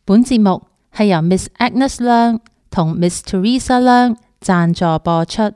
本節目係由 Miss Agnes 梁同 Miss Teresa 梁贊助播出。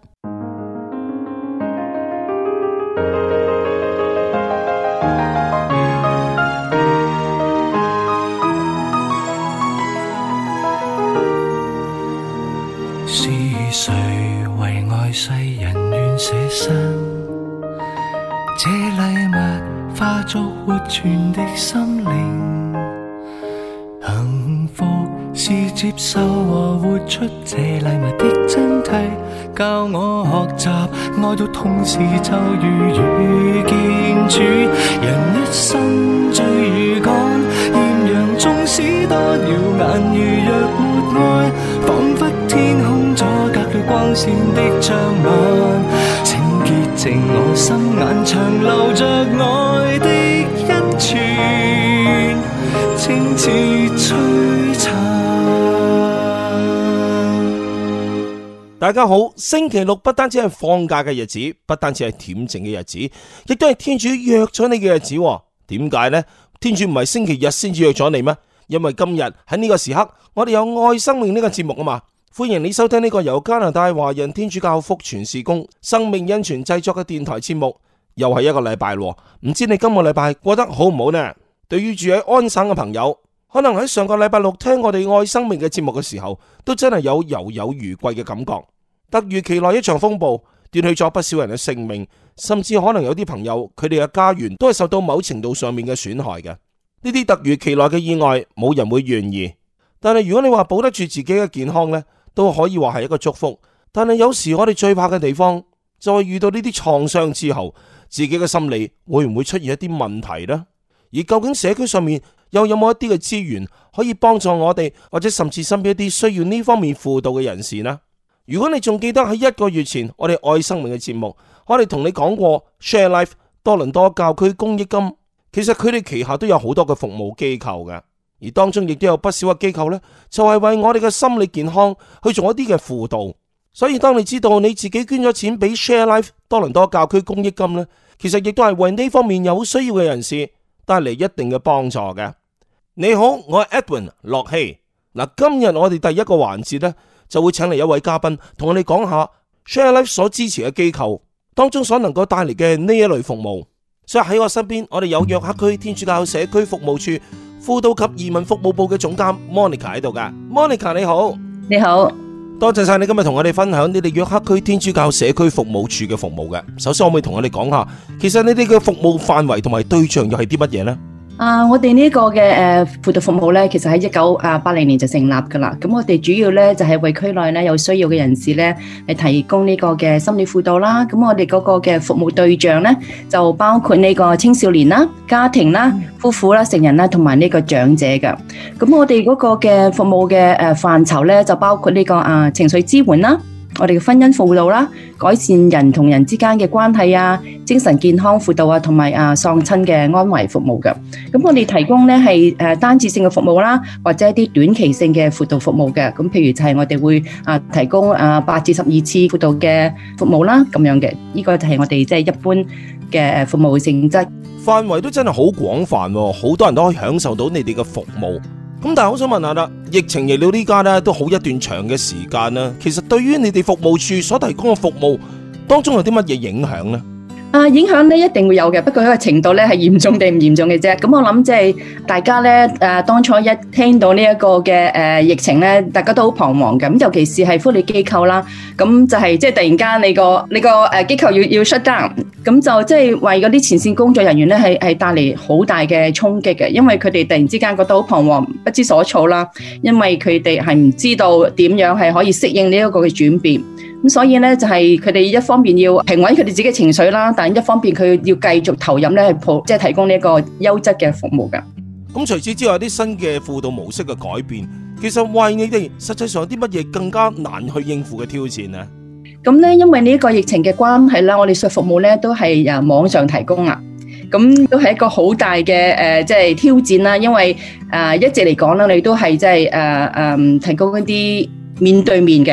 是誰為愛世人願捨身？這禮物化作活存的心靈，幸福是接受和活出這禮物的真諦，教我學習愛到同時就如遇見主。人一生最如趕，豔陽縱使多耀眼，如若沒愛，彷彿天空阻隔了光線的障礙。請潔淨我心眼，長留着愛的恩泉，清似璀璨。 大家好，星期六不單止係放假嘅日子，不單止係恬靜嘅日子，亦都係天主約咗你嘅日子。點解呢？天主唔係星期日先至約咗你咩？因為今日喺呢個時刻，我哋有愛生命呢個節目啊嘛。歡迎你收聽呢個由加拿大華人天主教福傳事工生命恩泉製作嘅電台節目。又係一個禮拜咯，唔知你今個禮拜過得好唔好呢？對於住喺安省嘅朋友，可能喺上個禮拜六聽我哋愛生命嘅節目嘅時候，都真係有猶有餘悸嘅感覺。突如其來一場風暴，奪去咗不少人嘅性命，甚至可能有啲朋友佢哋嘅家園都係受到某程度上面嘅損害嘅。呢啲突如其來嘅意外，冇人會願意。但係如果你話保得住自己嘅健康呢，都可以話係一個祝福。但係有時我哋最怕嘅地方，就係遇到呢啲創傷之後，自己嘅心理會唔會出現一啲問題呢？而究竟社區上面又有冇一啲嘅資源可以幫助我哋，或者甚至身邊一啲需要呢方面輔導嘅人士呢？如果你仲記得喺1個月前我哋愛生命嘅節目，我哋同你講過 Share Life 多倫多教區公益金，其實佢哋旗下都有好多嘅服務機構嘅，而當中亦都有不少嘅機構呢，就係為我哋嘅心理健康去做一啲嘅輔導。所以當你知道你自己捐咗錢俾 Share Life 多倫多教區公益金呢，其實亦都係為呢方面有需要嘅人士帶嚟一定嘅幫助嘅。你好，我係 Edwin 駱曦。嗱，今日我哋第一個環節呢，就會請嚟一位嘉賓同我哋講下 Share Life 所支持嘅機構當中所能夠帶嚟嘅呢一類服務。所以喺我身邊，我哋有約克區天主教社區服務處輔導及移民服務部嘅總監 Monica 喺度噶。Monica 你好。 你好， 多謝晒你今日同我哋分享你哋約克區天主教社區服務處嘅服務嘅。首先可唔可以同我哋講下，其實你哋嘅服務範圍同埋對象又係啲乜嘢呢？ 我哋呢個嘅輔導服務咧，其實喺1980年就成立噶啦。咁我哋主要咧就係為區內咧有需要嘅人士咧係提供呢個嘅心理輔導啦。咁我哋嗰個嘅服務對象咧就包括呢個青少年啦、家庭啦、夫婦啦、成人啦同埋呢個長者噶。咁我哋嗰個嘅服務嘅範疇咧就包括呢個情緒支援啦。我哋嘅婚姻輔導啦，改善人同人之間嘅關係啊，精神健康輔導啊，同埋喪親嘅安慰服務嘅。咁我哋提供咧係單次性嘅服務啦，或者一啲短期性嘅輔導服務嘅。咁譬如就係我哋會提供8至12次輔導嘅服務啦，咁樣嘅。呢個就係我哋即係一般嘅服務性質。 範圍都真係好廣泛，好多人都可以享受到你哋嘅服務。咁但係好想問下啦，疫情嚟到呢家咧都好一段長嘅時間啦，其實對於你哋服務處所提供嘅服務當中有啲乜嘢影響呢？ 影響咧一定會有嘅，不過嗰個程度咧係嚴重定唔嚴重嘅啫。咁我諗即係大家咧當初一聽到呢一個嘅疫情咧，大家都好彷徨嘅。咁尤其是係福利機構啦，咁就係即係突然間你個機構要 shut down，咁就即係為嗰啲前線工作人員咧係帶嚟好大嘅衝擊嘅，因為佢哋突然之間覺得好彷徨，不知所措啦，因為佢哋係唔知道點樣係可以適應呢一個嘅轉變。咁所以咧就係佢哋一方面要平穩佢哋自己嘅情緒啦，但一方面佢要繼續投入咧即係提供呢一個優質嘅服務㗎。 咁除此之外，有啲新嘅輔導模式嘅改變，其實為你哋實際上有啲乜嘢更加難去應付嘅挑戰呢？ 咁咧因為呢個疫情嘅關係啦，我哋嘅服務咧都係網上提供啦，咁都係一個好大嘅即係挑戰啦，因為一直嚟講啦，你都係即係提供一啲面對面嘅。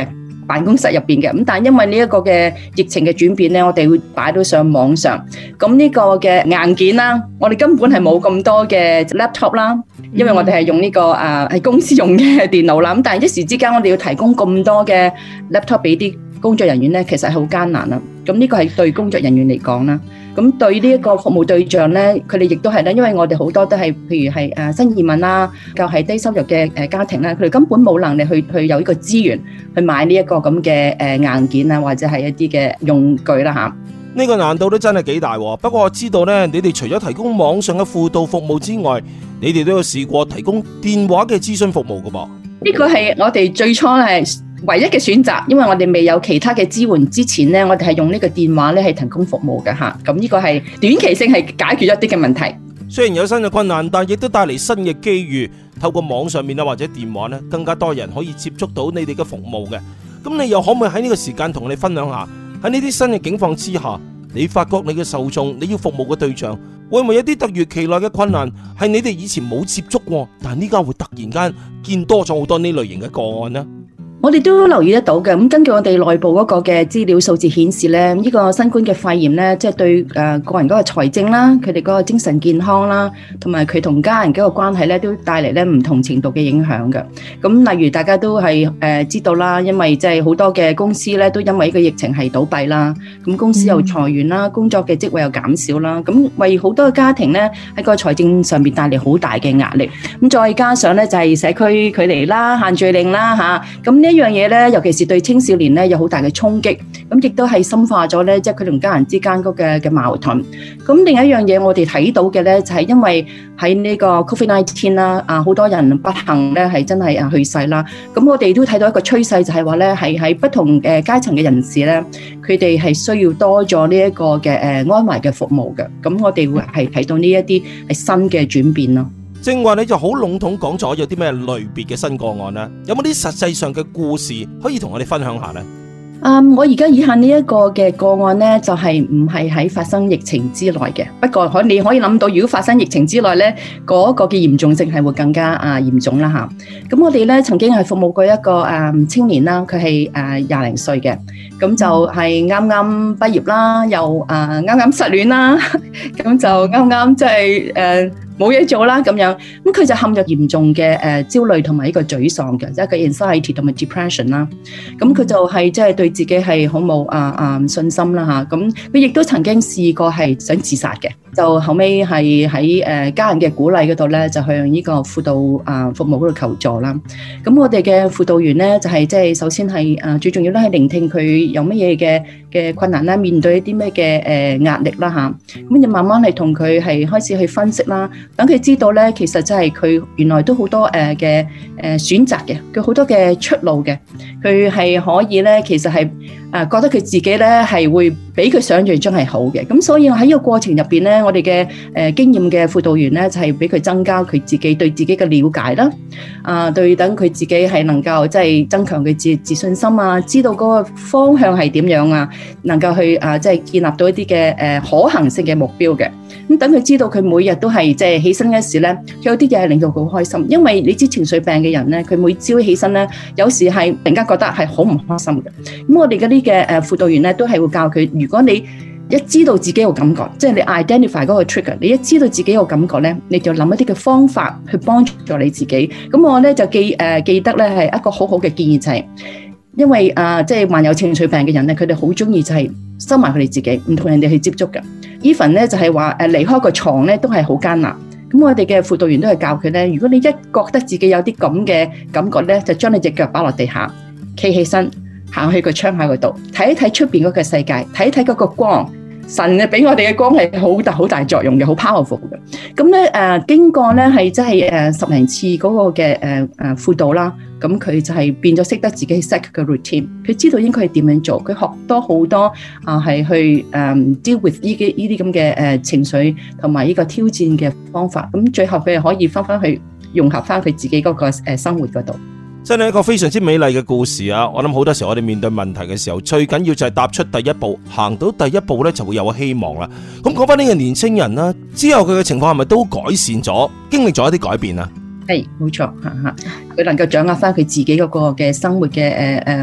辦公室入邊嘅。咁但係因為呢一個嘅疫情嘅轉變咧，我哋會擺到上網上。咁呢個嘅硬件啦，我哋根本係冇咁多嘅 laptop 啦，因為我哋係用呢個係公司用嘅電腦啦。咁但係一時之間我哋要提供咁多嘅 laptop 俾啲工作人員咧，其實係好艱難啦。咁呢個係對工作人員嚟講啦。咁對呢一個服務對象咧，佢哋亦都係咧，因為我哋好多都係譬如係新移民啦，就係低收入嘅家庭啦，佢哋根本冇能力去有呢個資源去買呢一個咁嘅硬件啊，或者係一啲嘅用具啦嚇。 呢個難度都真係幾大喎。不過我知道咧，你哋除咗提供網上嘅輔導服務之外，你哋都有試過提供電話嘅諮詢服務㗎噃。 呢個係我哋最初係唯一嘅選擇，因為我哋未有其他嘅支援之前咧，我哋係用呢個電話咧係提供服務嘅嚇。咁呢個係短期性係解決一啲嘅問題。 雖然有新嘅困難，但亦都帶嚟新嘅機遇。透過網上面啊或者電話咧，更加多人可以接觸到你哋嘅服務嘅。咁你又可唔可以喺呢個時間同我哋分享下，喺呢啲新嘅境況之下，你發覺你嘅受眾，你要服務嘅對象，會唔會有啲突如其來嘅困難，係你哋以前冇接觸過，但係呢家會突然間見多咗好多呢類型嘅個案呢？ 我哋都留意得到嘅，咁根據我哋內部嗰個嘅資料數字顯示咧，呢個新冠嘅肺炎咧，即係對個人嗰個財政啦，佢哋嗰個精神健康啦，同埋佢同家人嗰個關係咧，都帶嚟咧唔同程度嘅影響嘅。咁例如大家都係知道啦，因為即係好多嘅公司咧都因為呢個疫情係倒閉啦，咁公司又裁員啦，工作嘅職位又減少啦，咁為好多嘅家庭咧喺個財政上面帶嚟好大嘅壓力。咁再加上咧就係社區距離啦、限聚令啦嚇，咁呢樣嘢咧，尤其是對青少年咧有好大嘅衝擊，咁亦都係深化咗咧，即係佢同家人之間嗰嘅矛盾。咁另一樣嘢我哋睇到嘅咧，就係因為喺呢個 COVID-19 啦，好多人不幸咧係真係去世啦。咁我哋都睇到一個趨勢，就係話咧係喺不同嘅階層嘅人士咧，佢哋係需要多咗呢一個嘅安慰嘅服務嘅。咁我哋會係睇到呢一啲係新嘅轉變咯。 正話你就好籠統講咗有啲咩類別嘅新個案呢？有冇啲實際上嘅故事可以同我哋分享下呢？ 我而家以下呢一個嘅個案呢，就係唔係喺發生疫情之內嘅。不過你可以諗到，如果發生疫情之內呢，嗰個嘅嚴重性係會更加嚴重啦嚇。咁我哋呢曾經係服務過一個青年啦，佢係20零歲嘅，咁就係啱啱畢業啦，又啱啱失戀啦，咁就啱啱即係冇嘢做啦咁樣，咁佢就陷入嚴重嘅焦慮同埋呢個沮喪嘅，即係個 anxiety 同埋 depression 啦。咁佢就係即係對自己係好冇信心啦嚇。咁佢亦都曾經試過係想自殺嘅，就後尾係喺家人嘅鼓勵嗰度咧，就向呢個輔導服務嗰度求助啦。咁我哋嘅輔導員咧就係即係首先係最重要咧係聆聽佢有乜嘢嘅困難啦，面對一啲咩嘅壓力啦嚇。咁就慢慢係同佢係開始去分析啦。等佢知道咧，其實真係佢原來都好多嘅選擇嘅，佢好多嘅出路嘅，佢係可以咧，其實係覺得佢自己咧係會比佢想象中係好嘅。咁所以喺呢個過程入邊咧，我哋嘅經驗嘅輔導員咧就係俾佢增加佢自己對自己嘅了解啦，對等佢自己係能夠即係增強佢自信心啊，知道嗰個方向係點樣啊，能夠去即係建立到一啲嘅可行性嘅目標嘅。咁等佢知道佢每日都係即係起身嗰時咧，有啲嘢係令到佢好開心，因為你知情緒病嘅人咧，佢每朝起身咧，有時係突然間覺得係好唔開心嘅。咁我哋嗰啲嘅輔導員咧，都係會教佢，如果你一知道自己有感覺，即係你 identify 嗰個 trigger， 你一知道自己有感覺咧，你就諗一啲嘅方法去幫助你自己。咁我咧就記得咧係一個好好嘅建議就係，因為即係患有情緒病嘅人咧，佢哋好中意就係收埋佢哋自己，唔同人哋去接觸嘅。even 咧就係話離開個床咧都係好艱難。咁我哋嘅輔導員都係教佢咧，如果你一覺得自己有啲咁嘅感覺咧，就將你隻腳擺落地下，企起身，行去個窗口嗰度睇一睇出邊嗰個世界，睇一睇嗰個光。神俾我哋嘅光係好大作用嘅，好 powerful 嘅。咁咧經過咧係即係10零次嗰個嘅輔導啦，咁佢就係變咗識得自己 set 個 routine， 佢知道應該係點樣做，佢學多好多係去deal with 呢啲咁嘅情緒同埋呢個挑戰嘅方法。咁最後佢係可以翻去融合翻佢自己嗰個生活嗰度。 真係一個非常之美麗嘅故事啊！我諗好多時候我哋面對問題嘅時候，最緊要就係踏出第一步，行到第一步咧就會有希望啦。咁講翻呢個年青人啦，之後佢嘅情況係咪都改善咗，經歷咗一啲改變啊？ 係冇錯，佢能夠掌握翻佢自己嗰個嘅生活嘅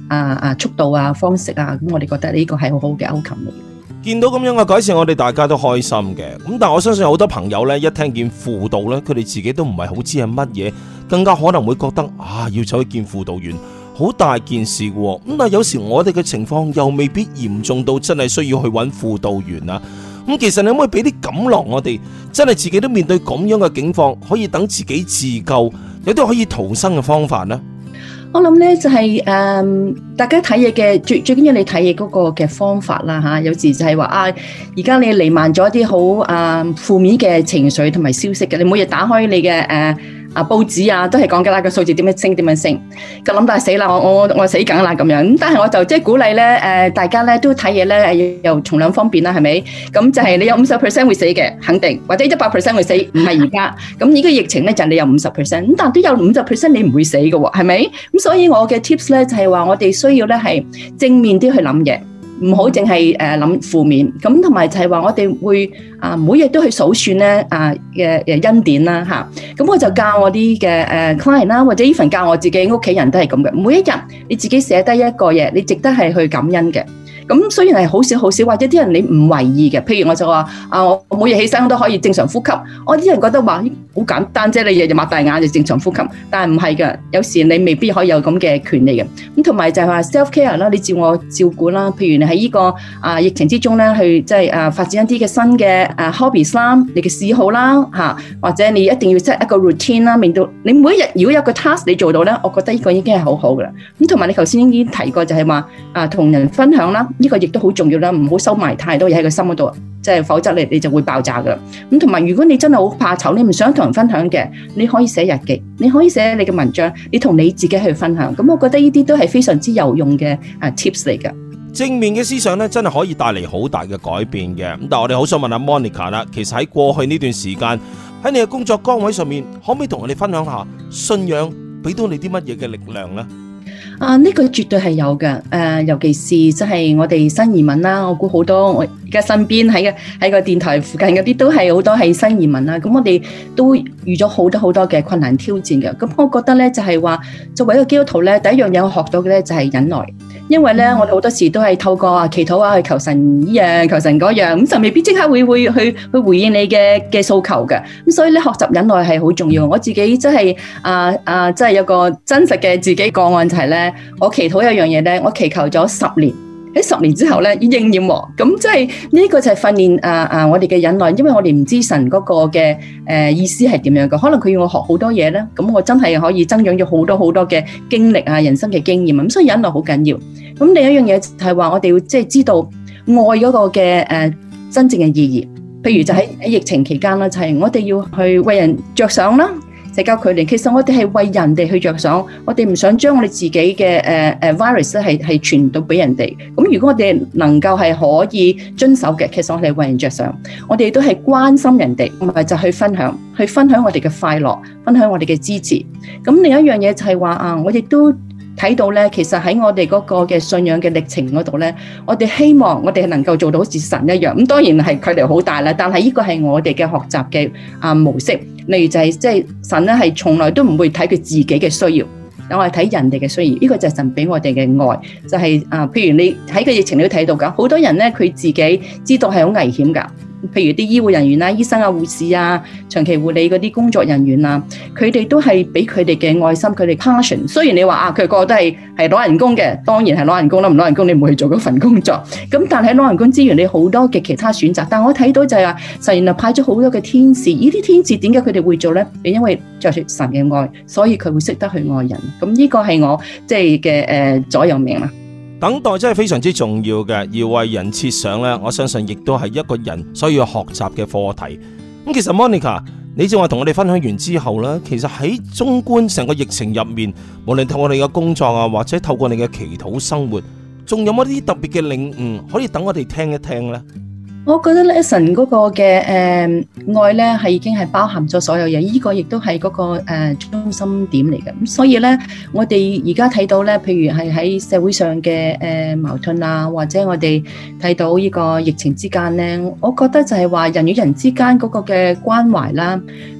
速度啊、方式啊，咁我哋覺得呢個係好好嘅 outcome 嚟。 見到咁樣嘅改善，我哋大家都開心嘅。咁但係我相信好多朋友呢，一聽見輔導呢，佢哋自己都唔係好知係乜嘢，更加可能會覺得要走去見輔導員，好大件事嘅。咁但係有時我哋嘅情況又未必嚴重到真係需要去揾輔導員啊。咁其實你可唔可以俾啲感樂我哋，真係自己都面對咁樣嘅境況，可以等自己自救，有啲可以逃生嘅方法呢？ 我諗咧就係大家睇嘢嘅最緊要你睇嘢嗰個嘅方法啦吓，有時就係話而家你彌漫咗一啲好負面嘅情緒同埋消息嘅，你每日打開你嘅報紙啊，都係講緊啦個數字點樣升，咁諗到死啦，我死梗啦咁樣。咁但係我就即係鼓勵咧大家咧都睇嘢咧又從兩方面啦，係咪？咁就係你有50% 會死嘅，肯定，或者100% 會死，唔係而家。咁呢個疫情咧就係你有50%，咁但係都有50%你唔會死嘅喎，係咪？咁所以我嘅 tips 咧就係話我哋需要咧係正面啲去諗嘢。唔好淨係諗負面，咁同埋就係話我哋會每日都去數算咧嘅恩典啦嚇，咁我就教我啲嘅client 啦，或者even教我自己屋企人都係咁嘅，每一日你自己寫低一個嘢，你值得係去感恩嘅。咁雖然係好少，或者啲人你唔為意嘅，譬如我就話我每日起身我都可以正常呼吸，我啲人覺得話好簡單啫，你日日擘大眼就正常呼吸，但係唔係㗎，有時你未必可以有咁嘅權利嘅。咁同埋就係話 self care 啦，你自我照顧啦，譬如你喺呢個疫情之中咧，去即係發展一啲嘅新嘅hobbies 啦，你嘅嗜好啦嚇，或者你一定要 set 一個 routine 啦，令到你每一日如果有個 task 你做到咧，我覺得呢個已經係好好㗎啦。咁同埋你頭先已經提過就係話同人分享啦。呢個亦都好重要啦，唔好收埋太多嘢喺個心嗰度，即係否則你就會爆炸噶啦。咁同埋，如果你真係好怕醜，你唔想同人分享嘅，你可以寫日記，你可以寫你嘅文章，你同你自己去分享。咁我覺得呢啲都係非常之有用嘅tips 嚟噶。 正面嘅思想咧，真係可以帶嚟好大嘅改變嘅。咁但係我哋好想問下 Monica 啦，其實喺過去呢段時間喺你嘅工作崗位上面，可唔可以同我哋分享下信仰俾到你啲乜嘢嘅力量呢？ 呢個絕對係有嘅，尤其是即係我哋新移民啦，我估好多我而家身邊喺個電台附近嗰啲都係好多係新移民啦，咁我哋都遇咗好多嘅困難挑戰嘅，咁我覺得咧就係話作為一個基督徒咧，第一樣嘢我學到嘅咧就係忍耐。因為咧，我哋好多時都係透過祈禱去求神呢樣、求神嗰樣，咁就未必即刻會去回應你嘅訴求嘅。咁所以咧，學習忍耐係好重要。我自己真係真係有個真實嘅自己個案就係咧，我祈禱一樣嘢咧，我祈求咗10年。喺10年之後咧，應驗喎，咁即係呢個就係訓練我哋嘅忍耐，因為我哋唔知神嗰個嘅意思係點樣嘅，可能佢要我學好多嘢咧，咁我真係可以增長咗好多嘅經歷人生嘅經驗，咁所以忍耐好緊要。咁另一樣嘢就係話我哋要即係知道愛嗰個嘅真正嘅意義，譬如就喺疫情期間啦，就係我哋要去為人着想啦。社交距離，其實我哋係為人哋去着想，我哋唔想將我哋自己嘅virus 咧係傳到俾人哋。咁如果我哋能夠係可以遵守嘅，其實我哋係為人着想，我哋都係關心人哋，唔係就去分享我哋嘅快樂，分享我哋嘅支持。咁另一樣嘢就係話我亦都睇到咧，其實喺我哋嗰個嘅信仰嘅歷程嗰度咧，我哋希望我哋係能夠做到好似神一樣。咁當然係距離好大啦，但係呢個係我哋嘅學習嘅模式。例如就係即係神咧，係從來都唔會睇佢自己嘅需要，我係睇人哋嘅需要。呢個就係神俾我哋嘅愛，就係譬如你喺個疫情你都睇到噶，好多人咧佢自己知道係好危險噶。譬如啲醫護人員啦、醫生啊、護士啊、長期護理嗰啲工作人員啊，佢哋都係俾佢哋嘅愛心，佢哋 passion。雖然你話佢個個都係攞人工嘅，當然係攞人工啦，唔攞人工你唔會去做嗰份工作。咁但係攞人工之餘，你好多嘅其他選擇。但我睇到就係話，神原來派咗好多嘅天使，呢啲天使點解佢哋會做咧？因為着住神嘅愛，所以佢會識得去愛人。咁呢個係我即係嘅座右銘啦。 等待真係非常之重要嘅，而為人設想呢，我相信亦都係一個人需要學習嘅課題。咁其實 Monica，你正話同我哋分享完之後呢，其實喺綜觀成個疫情入面，無論透過你嘅工作啊，或者透過你嘅祈禱生活，仲有冇啲特別嘅領悟可以等我哋聽一聽呢？ 我覺得咧，神嗰個嘅愛咧係已經係包含咗所有嘢，呢個亦都係嗰個中心點嚟嘅。咁所以咧，我哋而家睇到咧，譬如係喺社會上嘅矛盾啊，或者我哋睇到呢個疫情之間咧，我覺得就係話人與人之間嗰個嘅關懷啦，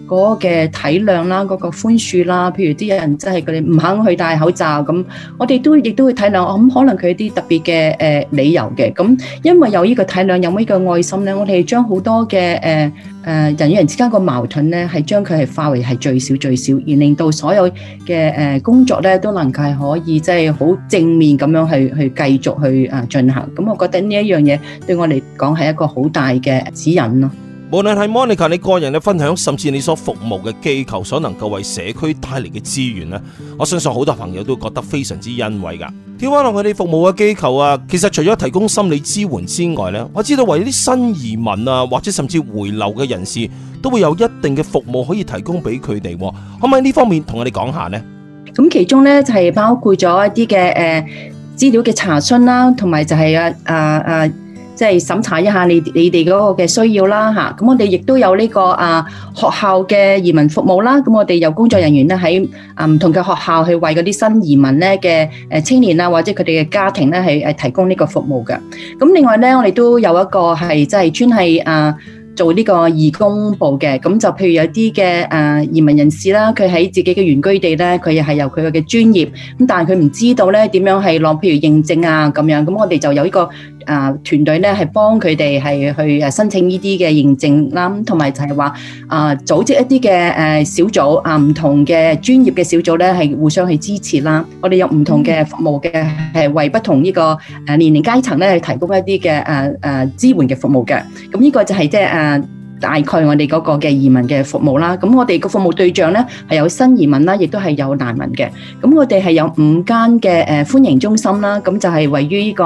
嗰個嘅體諒啦，嗰個寬恕啦。譬如啲人真係佢哋唔肯去戴口罩咁，我哋亦都會體諒。咁可能佢有啲特別嘅理由嘅。咁因為有呢個體諒，有呢個愛心咧，我哋將好多嘅人與人之間個矛盾咧，係將佢係化為係最少，而令到所有嘅工作咧都能夠係可以即係好正面咁樣去繼續去進行。咁我覺得呢一樣嘢對我嚟講係一個好大嘅指引咯。 無論係 Monica 你個人嘅分享，甚至你所服務嘅機構所能夠為社區帶嚟嘅資源咧，我相信好多朋友都覺得非常之欣慰噶。跳翻落佢哋服務嘅機構啊，其實除咗提供心理支援之外咧，我知道為啲新移民啊，或者甚至回流嘅人士，都會有一定嘅服務可以提供俾佢哋。可唔可以呢方面同我哋講下呢？ 咁其中咧就係包括咗一啲嘅資料嘅查詢啦，同埋就係即係審查一下你哋嗰個嘅需要啦嚇。咁我哋亦都有呢個學校嘅移民服務啦。咁我哋有工作人員咧喺唔同嘅學校去為嗰啲新移民咧嘅青年啊，或者佢哋嘅家庭咧係提供呢個服務嘅。咁另外咧，我哋都有一個係即係專係做呢個義工部嘅。咁就譬如有啲嘅移民人士啦，佢喺自己嘅原居地咧，佢又係有佢嘅專業，咁但係佢唔知道咧點樣係攞譬如認證啊咁樣，咁我哋就有呢個團隊咧係幫佢哋係去申請呢啲嘅認證啦，同埋就係話組織一啲嘅小組唔同嘅專業嘅小組咧係互相去支持啦。我哋有唔同嘅服務嘅，係為不同呢個年齡階層咧去提供一啲嘅支援嘅服務嘅。咁呢個就係即係大概我哋嗰個嘅移民嘅服務啦。咁我哋個服務對象咧係有新移民啦，亦都係有難民嘅。咁我哋係有5間嘅歡迎中心啦。咁就係位於呢個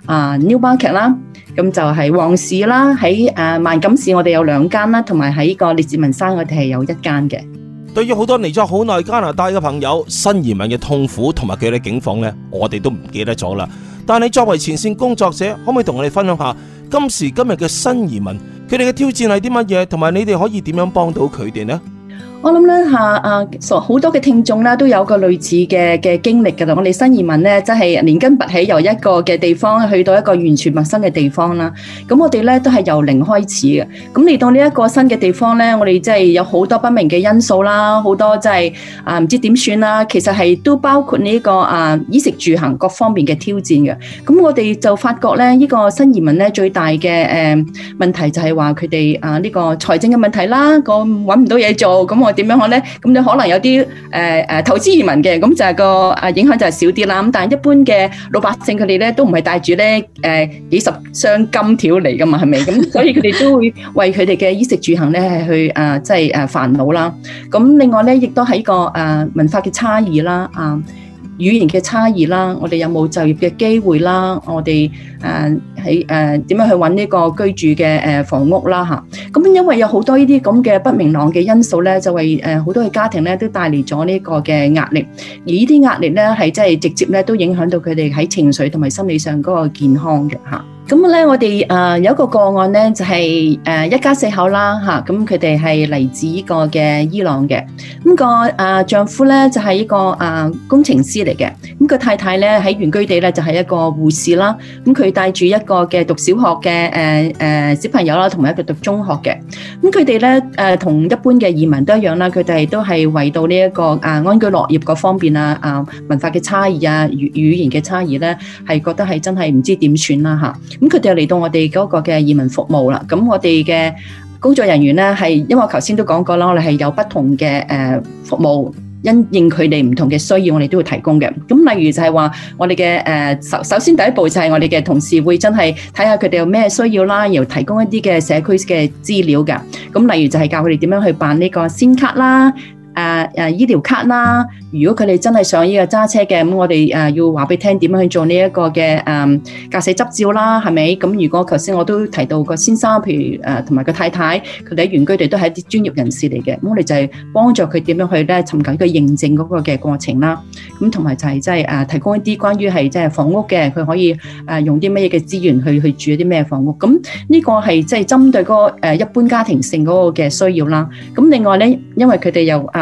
New Market 啦，咁就係旺市啦，喺萬錦市我哋有2間啦，同埋喺個列治文山我哋係有1間嘅。 對於好多嚟咗好耐加拿大嘅朋友，新移民嘅痛苦同埋佢哋境況呢，我哋都唔記得咗啦。但係作為前線工作者，可唔可以同我哋分享下今時今日嘅新移民佢哋嘅挑戰係啲乜嘢，同埋你哋可以點樣幫到佢哋呢？ 我諗咧好多嘅聽眾咧都有個類似嘅經歷噶啦。我哋新移民咧真係連根拔起，由一個嘅地方去到一個完全陌生嘅地方啦。咁我哋咧都係由零開始嘅。咁嚟到呢一個新嘅地方咧，我哋真係有好多不明嘅因素啦，好多真係唔知點算啦。其實係都包括呢個衣食住行各方面嘅挑戰嘅。咁我哋就發覺咧，呢個新移民咧最大嘅問題就係話佢哋呢個財政嘅問題啦，個搵唔到嘢做。咁我點樣講咧？咁你可能有啲投資移民嘅，咁就係個影響就係少啲啦。咁但係一般嘅老百姓佢哋咧都唔係帶住咧幾十箱金條嚟噶嘛，係咪？咁所以佢哋都會為佢哋嘅衣食住行咧係去即係煩惱啦。咁另外咧亦都喺個文化嘅差異啦，語言嘅差異啦，我哋有冇就業嘅機會啦？我哋喺點樣去揾呢個居住嘅房屋啦嚇？咁因為有好多呢啲咁嘅不明朗嘅因素咧，就為好多嘅家庭咧都帶嚟咗呢個嘅壓力，而呢啲壓力咧係真係直接咧都影響到佢哋喺情緒同埋心理上嗰個健康嘅嚇。咁咧，我哋有一個個案咧，就係一家4口啦嚇，咁佢哋係嚟自呢個嘅伊朗嘅。咁個丈夫咧就係一個工程師嚟嘅，咁個太太咧喺原居地咧就係一個護士啦。咁佢帶住一個嘅讀小學嘅小朋友啦，同埋一個讀中學嘅。咁佢哋咧同一般嘅移民都一樣啦，佢哋都係為到呢一個安居樂業嗰方面啊，文化嘅差異啊，語言嘅差異咧，係覺得係真係唔知點算啦嚇。咁佢哋又嚟到我哋嗰個嘅移民服務啦。咁我哋嘅工作人員咧係，因為我頭先都講過啦，我哋係有不同嘅服務，因應佢哋唔同嘅需要，我哋都會提供嘅。咁例如就係話，我哋嘅首先第一步就係我哋嘅同事會真係睇下佢哋有咩需要啦，然後提供一啲嘅社區嘅資料㗎。咁例如就係教佢哋點樣去辦呢個先卡啦。醫療卡啦，如果佢哋真係想呢個揸車嘅，咁我哋要話俾你聽點樣去做呢一個嘅駕駛執照啦，係咪？咁如果頭先我都提到個先生，譬如同埋個太太，佢哋喺原居地都係一啲專業人士嚟嘅，咁我哋就係幫助佢點樣去咧尋求一個認證嗰個嘅過程啦。咁同埋就係即係提供一啲關於係即係房屋嘅，佢可以用啲乜嘢嘅資源去住一啲咩房屋。咁呢個係即係針對嗰個一般家庭性嗰個嘅需要啦。咁另外咧，因為佢哋又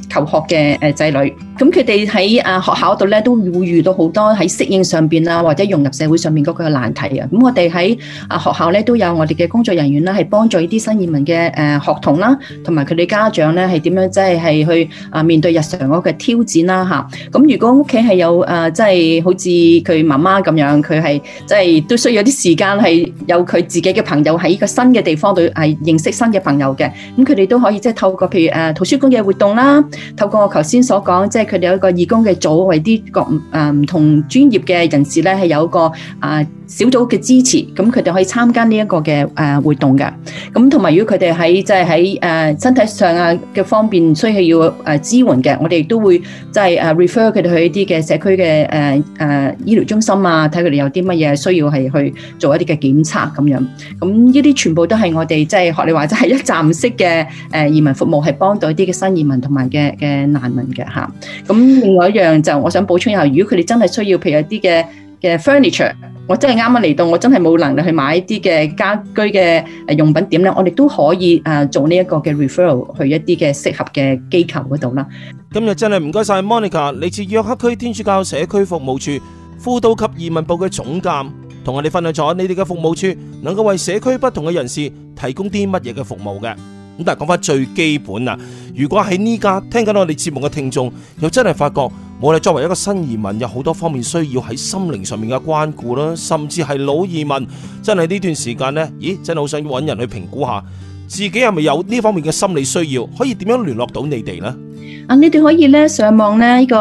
求學嘅仔女，咁佢哋喺學校度咧都會遇到好多喺適應上邊啊，或者融入社會上面嗰個難題啊。咁我哋喺學校咧都有我哋嘅工作人員啦，係幫助呢啲新移民嘅學童啦，同埋佢哋家長咧係點樣即係去面對日常嗰個挑戰啦嚇。咁如果屋企係有即係好似佢媽媽咁樣，佢係即係都需要啲時間係有佢自己嘅朋友喺呢個新嘅地方度係認識新嘅朋友嘅，咁佢哋都可以即係透過譬如圖書館嘅活動啦，透過我頭先所講，即係佢哋有一個義工嘅組，為啲各唔同專業嘅人士咧係有一個小組嘅支持，咁佢哋可以參加呢一個嘅活動嘅。咁同埋如果佢哋喺即係喺身體上嘅方面需要支援嘅，我哋都會即係refer 佢哋去一啲嘅社區嘅醫療中心啊，睇佢哋有啲乜嘢需要係去做一啲嘅檢測咁樣。咁呢啲全部都係我哋即係學你話齋係一站式嘅移民服務，係幫到一啲嘅新移民同埋嘅難民嘅嚇。咁另外一樣就我想補充一下，如果佢哋真係需要譬如一啲嘅 furniture， 我真係啱啱嚟到，我真係冇能力去買一啲嘅家居嘅用品點咧，我哋都可以做呢一個嘅 referral 去一啲嘅適合嘅機構嗰度啦。 今日真係唔該晒 Monica， 嚟自約克區天主教社區服務處輔導及移民部嘅總監，同我哋分享咗你哋嘅服務處能夠為社區不同嘅人士提供啲乜嘢嘅服務嘅。咁但係講翻最基本啦，如果喺呢家聽緊我哋節目嘅聽眾，又真係發覺我哋作為一個新移民，有好多方面需要喺心靈上面嘅關顧啦，甚至係老移民，真係呢段時間呢，真係好想揾人去評估下自己係咪有呢方面嘅心理需要，可以點樣聯絡到你哋呢？ 你哋可以咧上網咧呢個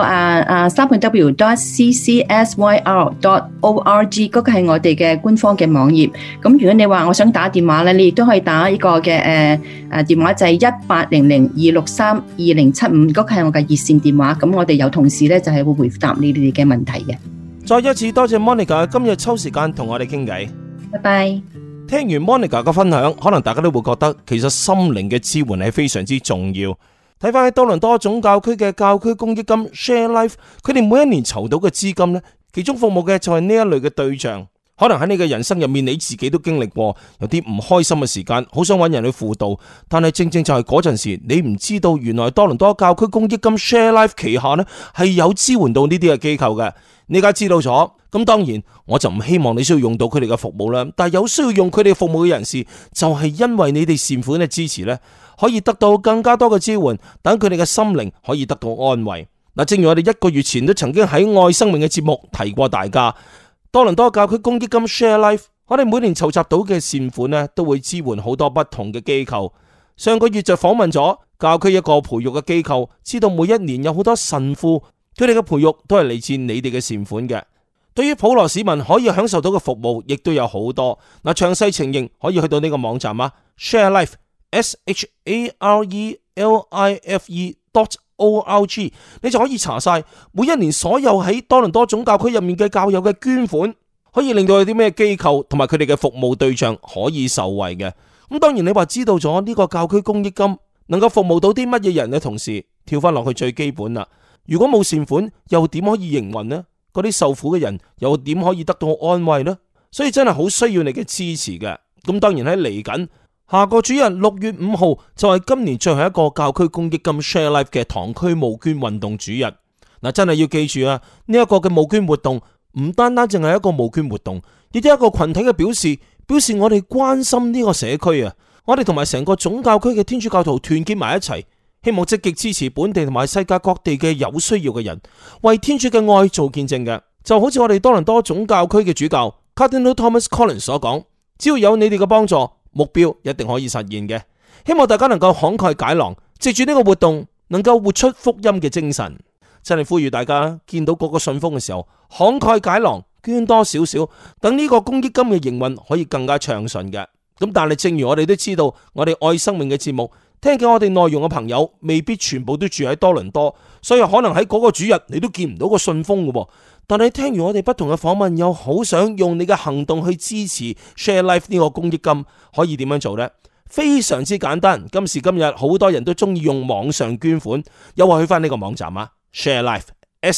www.ccsyr.org 嗰個係我哋嘅官方嘅網頁。咁如果你話我想打電話咧，你亦都可以打呢個嘅電話就係1800-263-2075，嗰個係我嘅熱線電話。咁我哋有同事咧就係會回答你哋嘅問題嘅。 再一次多謝 Monica 今日抽時間同我哋傾偈。 拜拜。 聽完 Monica 嘅分享，可能大家都會覺得其實心靈嘅支援係非常之重要。睇翻喺多倫多總教區嘅教區公益金 Share Life， 佢哋每一年籌到嘅資金呢，其中服務嘅就係呢一類嘅對象。可能喺你嘅人生入面，你自己都經歷過有啲唔開心嘅時間，好想揾人去輔導，但係正正就係嗰陣時，你唔知道原來多倫多教區公益金 Share Life 旗下呢係有支援到呢啲嘅機構嘅。你而家知道咗，咁當然我就唔希望你需要用到佢哋嘅服務啦。但係有需要用佢哋服務嘅人士，就係因為你哋善款嘅支持呢，可以得到更加多嘅支援，等佢哋嘅心靈可以得到安慰。嗱，正如我哋1個月前都曾經喺愛生命嘅節目提過大家，多倫多教區公益金 Share Life， 我哋每年籌集到嘅善款呢，都會支援好多不同嘅機構。上個月就訪問咗教區一個培育嘅機構，知道每一年有好多神父，佢哋嘅培育都係嚟自你哋嘅善款嘅。對於普羅市民可以享受到嘅服務，亦都有好多。嗱，詳細情形可以去到呢個網站啊 ，Share Life，SHARELIFE.org， 你就可以查晒每一年所有喺多倫多總教區入面嘅教友嘅捐款，可以令到有啲咩機構同埋佢哋嘅服務對象可以受惠嘅。咁當然你話知道咗呢個教區公益金能夠服務到啲乜嘢人嘅同時，跳翻落去最基本啦。如果冇善款，又點可以營運呢？嗰啲受苦嘅人又點可以得到安慰呢？所以真係好需要你嘅支持嘅。咁當然喺嚟緊下個主日6月5號就係今年最後一個教區公益金 Share Life 嘅堂區募捐運動主日。嗱，真係要記住啊！呢一個嘅募捐活動唔單單淨係一個募捐活動，亦都係一個群體嘅表示我哋關心呢個社區啊！我哋同埋成個總教區嘅天主教徒團結埋一齊，希望積極支持本地同埋世界各地嘅有需要嘅人，為天主嘅愛做見證嘅。就好似我哋多倫多總教區嘅主教 Cardinal Thomas Collins 所講，只要有你哋嘅幫助，目標一定可以實現嘅。希望大家能夠慷慨解囊，藉住呢個活動能夠活出福音嘅精神。真係呼籲大家見到嗰個信封嘅時候，慷慨解囊，捐多少少，等呢個公益金嘅營運可以更加暢順嘅。咁但係正如我哋都知道，我哋愛生命嘅節目聽緊我哋內容嘅朋友未必全部都住喺多倫多，所以可能喺嗰個主日你都見唔到個信封嘅。但係聽完我哋不同嘅訪問，又好想用你嘅行動去支持 Share Life 呢個公益金，可以點樣做呢？非常之簡單，今時今日好多人都中意用網上捐款，又話去翻呢個網站啊 ，Share Life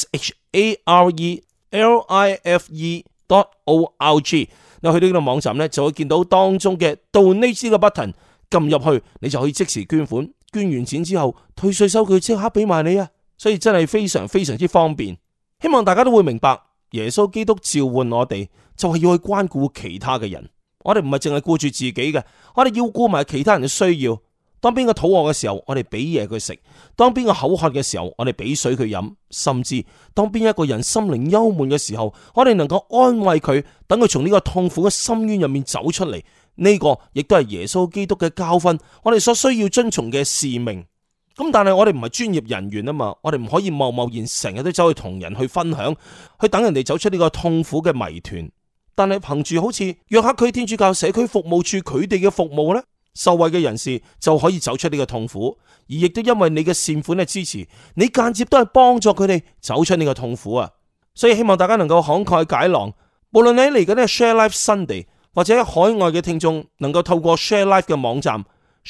SHARELIFE.org。你去到呢個網站呢，就會見到當中嘅 Donate 呢個 button， 撳入去你就可以即時捐款， 捐完錢之後，退稅收據即刻俾埋你啊！所以真係非常非常之方便。希望大家都會明白，耶穌基督召喚我哋就係要去關顧其他嘅人。我哋唔係淨係顧住自己嘅，我哋要顧埋其他人嘅需要。當邊個肚餓嘅時候，我哋俾嘢佢食；當邊個口渴嘅時候，我哋俾水佢飲。甚至當邊一個人心靈憂悶嘅時候，我哋能夠安慰佢，等佢從呢個痛苦嘅深淵入面走出嚟。呢個亦都係耶穌基督嘅教訓，我哋所需要遵從嘅使命。咁但係我哋唔係專業人員啊嘛，我哋唔可以貿貿然成日都走去同人去分享，去等人哋走出呢個痛苦嘅謎團。但係憑住好似約克區天主教社區服務處佢哋嘅服務呢，受惠嘅人士就可以走出呢個痛苦，而亦都因為你嘅善款嘅支持，你間接都係幫助佢哋走出呢個痛苦啊！所以希望大家能夠慷慨解囊，無論你嚟緊嘅 Share Life Sunday 或者海外嘅聽眾，能夠透過 Share Life 嘅網站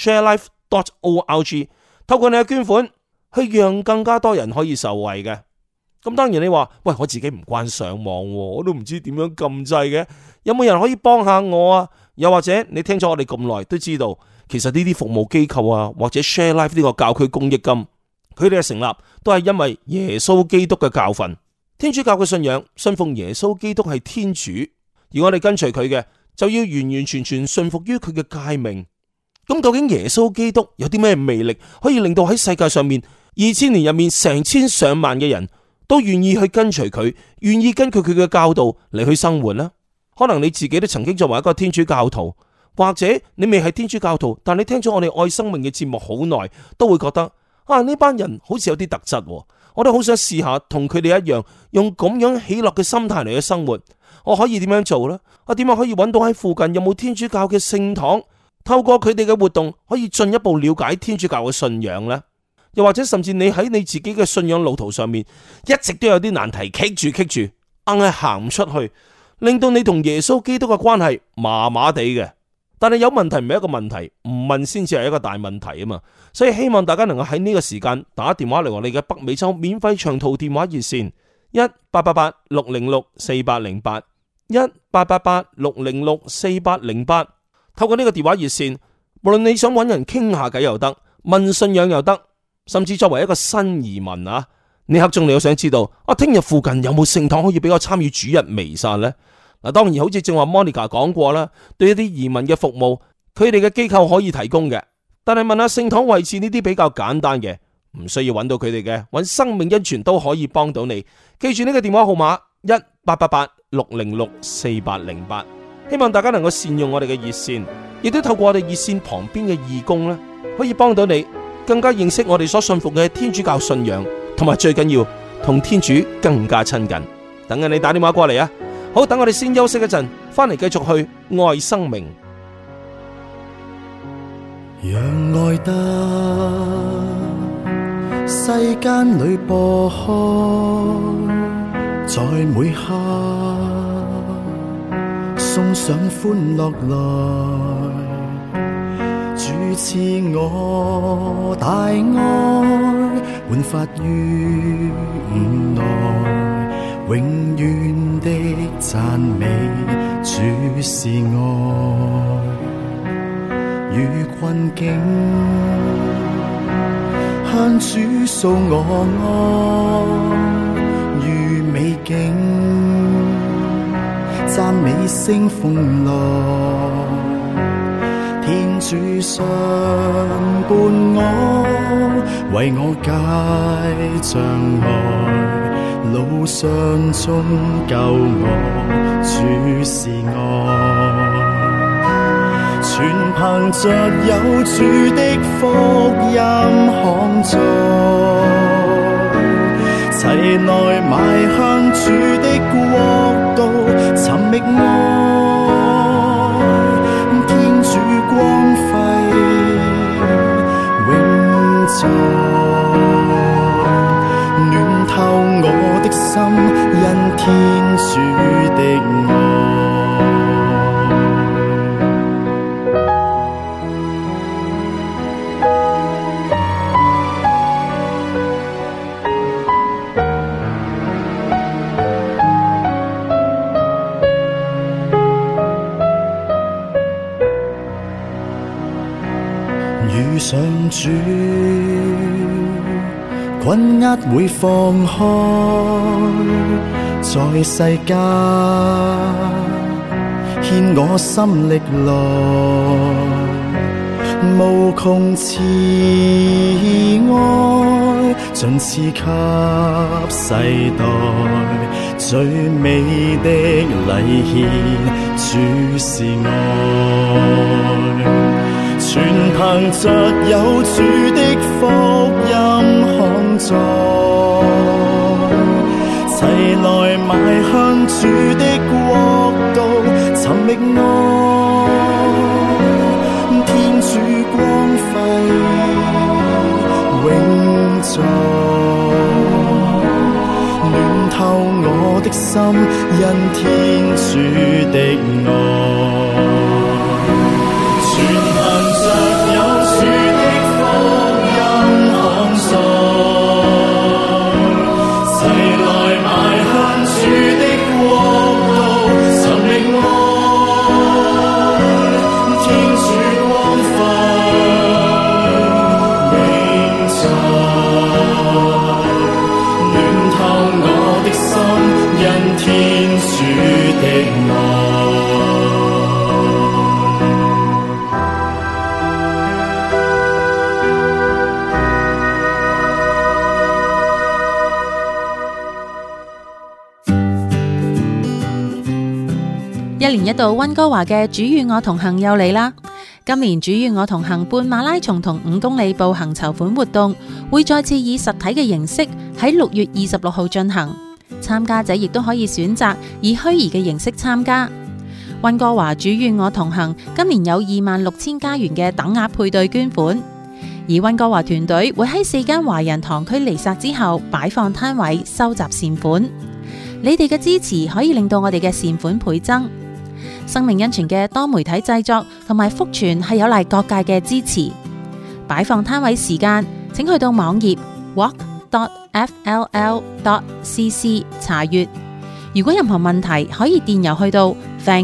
sharelife.org， 透過你嘅捐款，去讓更加多人可以受惠嘅。咁當然你話，喂，我自己唔慣上網，我都唔知點樣撳掣嘅，有冇人可以幫下我啊？又或者你聽咗我哋咁耐都知道，其實呢啲服務機構啊，或者 Share Life 呢個教區公益金，佢哋嘅成立都係因為耶穌基督嘅教訓。天主教嘅信仰信奉耶穌基督係天主，而我哋跟隨佢嘅就要完完全全信服於佢嘅誡命。咁究竟耶穌基督有啲咩魅力，可以令到喺世界上面2000年入面成千上萬嘅人都願意去跟隨佢，願意根據佢嘅教導嚟去生活呢？可能你自己都曾經作為一個天主教徒，或者你未係天主教徒，但你聽咗我哋愛生命嘅節目好耐，都會覺得啊，呢班人好似有啲特質，我都好想試下同佢哋一樣，用咁樣喜樂嘅心態嚟去生活。我可以點樣做呢？我點樣可以揾到喺附近有冇天主教嘅聖堂，透過佢哋嘅活動可以進一步了解天主教嘅信仰呢？又或者甚至你喺你自己嘅信仰路途上面，一直都有啲難題棘住，硬係行唔出去，令到你同耶穌基督嘅關係麻麻地嘅。但係有問題唔係一個問題，唔問先至係一個大問題啊嘛。所以希望大家能夠喺呢個時間打電話嚟我哋嘅北美洲免費長途電話熱線1888-606-4808 1888-606-4808。透過呢個電話熱線，無論你想揾人傾下偈又得，問信仰又得，甚至作為一個新移民啊，呢刻鐘你又想知道聽日附近有冇聖堂可以俾我參與主日彌撒呢？嗱，當然好似正話 Monica 講過啦，對一啲移民嘅服務，佢哋嘅機構可以提供嘅。但係問下聖堂位置呢啲比較簡單嘅，唔需要揾到佢哋嘅，揾生命恩泉都可以幫到你。記住呢個電話號碼1888-606-4808。希望大家能夠善用我哋嘅熱線，亦都透過我哋熱線旁邊嘅義工呢，可以幫到你更加認識我哋所信服嘅天主教信仰，同埋最緊要同天主更加親近。等緊你打電話過嚟啊！好，等我哋先休息一陣，翻嚟繼續去愛生命。 讓愛得世間裏播開，在每刻送上歡樂來，主賜我大愛，煥發於午內，永遠的讚美主是愛，與困境向主訴我愛，如美景讚美聲風來，天主相伴我，為我解障礙，路上中救我，主是愛，全憑着有主的福音康在，齊來邁向主的國度，尋覓愛，天主光輝永在，暖透我的心，因天主的愛。遇上主困壓會放開，在世間牽我心歷來，無窮慈愛盡賜給世代，最美的禮獻主是愛，全憑着有主的福音康在，齊來邁向主的國度，尋覓愛，天主光輝永在，暖透我的心，因天主的愛。 一年一度溫哥華嘅主與我同行又嚟啦！今年主與我同行半馬拉松同5公里步行籌款活動會再次以實體嘅形式喺6月26號進行，參加者亦都可以選擇以虛擬嘅形式參加。溫哥華主與我同行今年有26,000加元嘅等額配對捐款，而溫哥華團隊會喺4間華人堂區彌撒之後擺放攤位收集善款。你哋嘅支持可以令到我哋嘅善款倍增。生命恩泉嘅多媒體製作同埋福傳係有賴各界嘅支持。擺放攤位時間，請去到網頁 walk.fll.cc 查閱。如果任何問題，可以電郵去到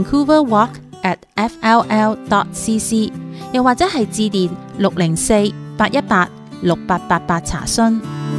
vancouverwalk@fll.cc， 又或者係致電604-818-6888查詢。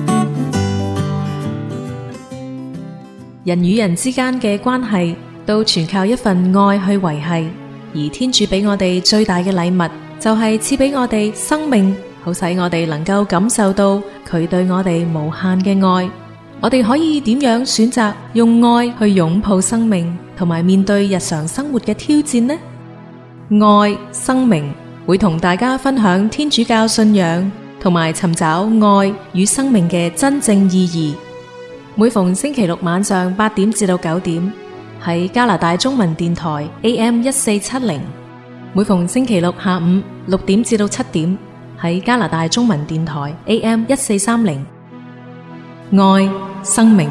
人與人之間嘅關係都全靠一份愛去維繫，而天主俾我哋最大嘅禮物就係賜俾我哋生命，好使我哋能夠感受到佢對我哋無限嘅愛。我哋可以點樣選擇用愛去擁抱生命，同埋面對日常生活嘅挑戰呢？愛生命會同大家分享天主教信仰，同埋尋找愛與生命嘅真正意義。每逢星期六晚上8點至到9點，喺加拿大中文電台 AM1470， 每逢星期六下午6點至到7點，喺加拿大中文電台 AM1430。愛生命。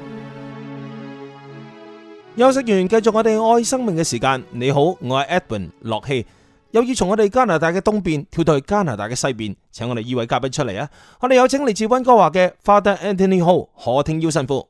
休息完，繼續我哋愛生命嘅時間。你好，我係 Edwin 樂希，又要從我哋加拿大嘅東邊跳到去加拿大嘅西邊，請我哋呢位嘉賓出嚟啊！我哋有請嚟自溫哥華嘅 Father Anthony Ho 何廷耀神父。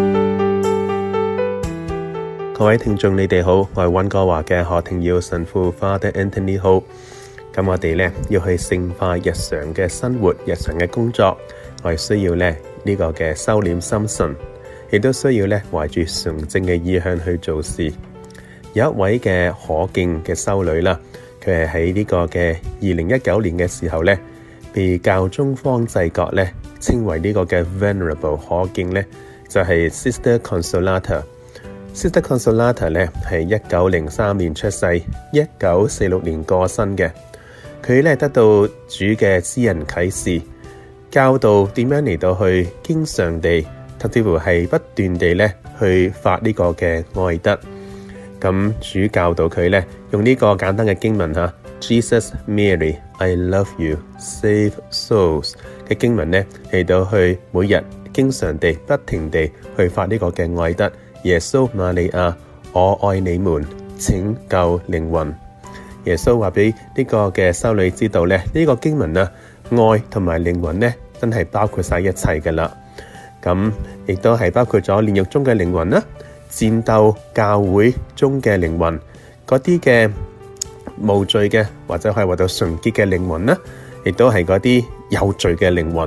各位聽眾，你哋好，我係溫哥華嘅何廷耀神父 Father Anthony Ho。咁我哋呢要去聖化日常嘅生活、日常嘅工作，我哋需要呢個嘅收斂心神，亦都需要呢懷住純正嘅意向去做事。有一位嘅可敬嘅修女啦，佢係喺呢個嘅2019年嘅時候呢，被教宗方濟各呢稱為呢個嘅 Venerable 可敬呢，就係 Sister Consolata。Sister Consolata 呢係1903年出世，1946年過身嘅。佢呢得到主嘅私人啟示，教導點樣嚟到去經常地，甚至乎係不斷地呢去發呢個嘅愛德。咁主教導佢呢用呢個簡單嘅經文吓 Jesus Mary I love you save souls 嘅經文呢嚟到去每日經常地不停地去發呢個嘅愛德。耶穌瑪利亞，我愛你們，拯救靈魂。耶穌話俾呢個嘅修女知道咧，呢個經文啊，愛同埋靈魂咧，真係包括晒一切噶啦。咁亦都係包括咗煉獄中嘅靈魂啦，戰鬥教會中嘅靈魂，嗰啲嘅無罪嘅或者可以話到純潔嘅靈魂啦，亦都係嗰啲有罪嘅靈魂。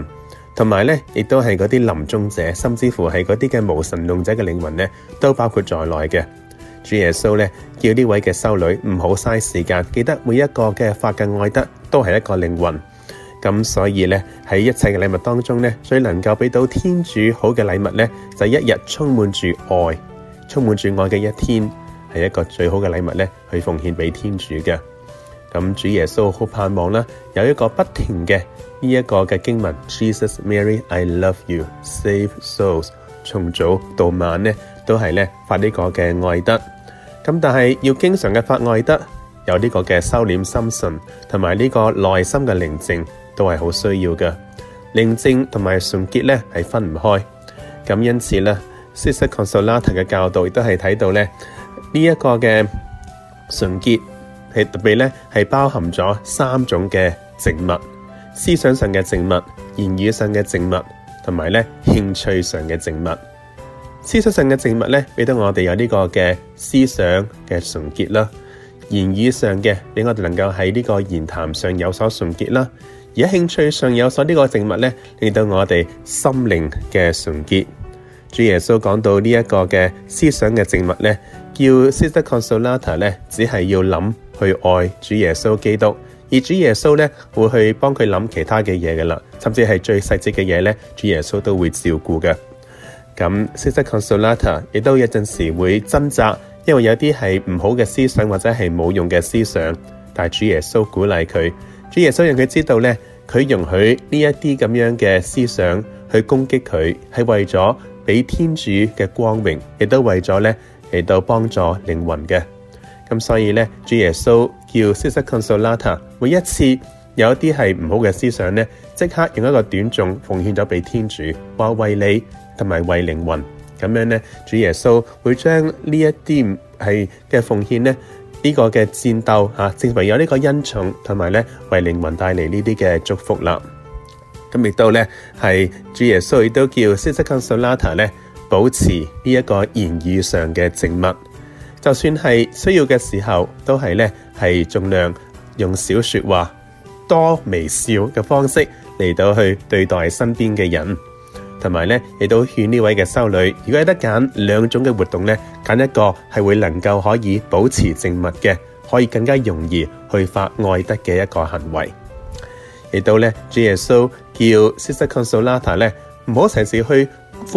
同埋咧亦都係嗰啲臨終者，甚至乎係嗰啲嘅無神論者嘅靈魂咧，都包括在內嘅。主耶穌咧叫呢位嘅修女唔好嘥時間，記得每一個嘅發嘅愛德都係一個靈魂。咁所以咧喺一切嘅禮物當中咧，最能夠俾到天主好嘅禮物咧，就係一日充滿住愛，充滿住愛嘅一天，係一個最好嘅禮物咧，去奉獻俾天主嘅。咁主耶穌好盼望啦，有一個不停嘅呢一個嘅經文 Jesus Mary I love you save souls， 從早到晚咧都係咧發呢個嘅愛德。咁但係要經常嘅發愛德，有呢個嘅收斂心神同埋呢個內心嘅寧靜都係好需要嘅。寧靜同埋純潔咧係分唔開。咁因此咧 Sister Consolata 嘅教導亦都係睇到咧呢一個嘅純潔係特別咧係包含咗3種嘅靜物：思想上嘅靜物、言語上嘅靜物，同埋咧興趣上嘅靜物。思想上嘅靜物咧，俾到我哋有呢個嘅思想嘅純潔啦；言語上嘅，俾我哋能夠喺呢個言談上有所純潔啦；而喺興趣上有所呢個靜物咧，令到我哋心靈嘅純潔。主耶穌講到呢一個嘅思想嘅靜物咧，叫 Sister Consolata 咧，只係要諗去愛主耶穌基督，而主耶穌咧會去幫佢諗其他嘅嘢嘅啦，甚至係最細節嘅嘢咧，主耶穌都會照顧嘅。咁 Sister Consolata 亦都有陣時會掙扎，因為有啲係唔好嘅思想或者係冇用嘅思想，但係主耶穌鼓勵佢，主耶穌讓佢知道咧，佢容許呢一啲咁樣嘅思想去攻擊佢，係為咗俾天主嘅光榮，亦都為咗咧嚟到幫助靈魂嘅。咁所以咧，主耶穌叫 Sister Consolata 每一次有一啲係唔好嘅思想咧，即刻用一個短頌奉獻咗俾天主，話為你同埋為靈魂。咁樣咧，主耶穌會將呢一啲係嘅奉獻咧，呢個嘅戰鬥正為有呢個恩寵，同埋咧為靈魂帶嚟呢啲嘅祝福啦。咁亦都咧係主耶穌亦都叫 Sister Consolata 咧保持呢一個言語上嘅靜默，就算係需要嘅時候，都係咧係盡量用少說話、多微笑嘅方式嚟到去對待身邊嘅人，同埋咧亦都勸呢位嘅修女，如果有得揀2種嘅活動咧，揀一個係會能夠可以保持靜默嘅，可以更加容易去發愛德嘅一個行為。亦都咧，主耶穌叫 Sister Consolata 咧唔好成時去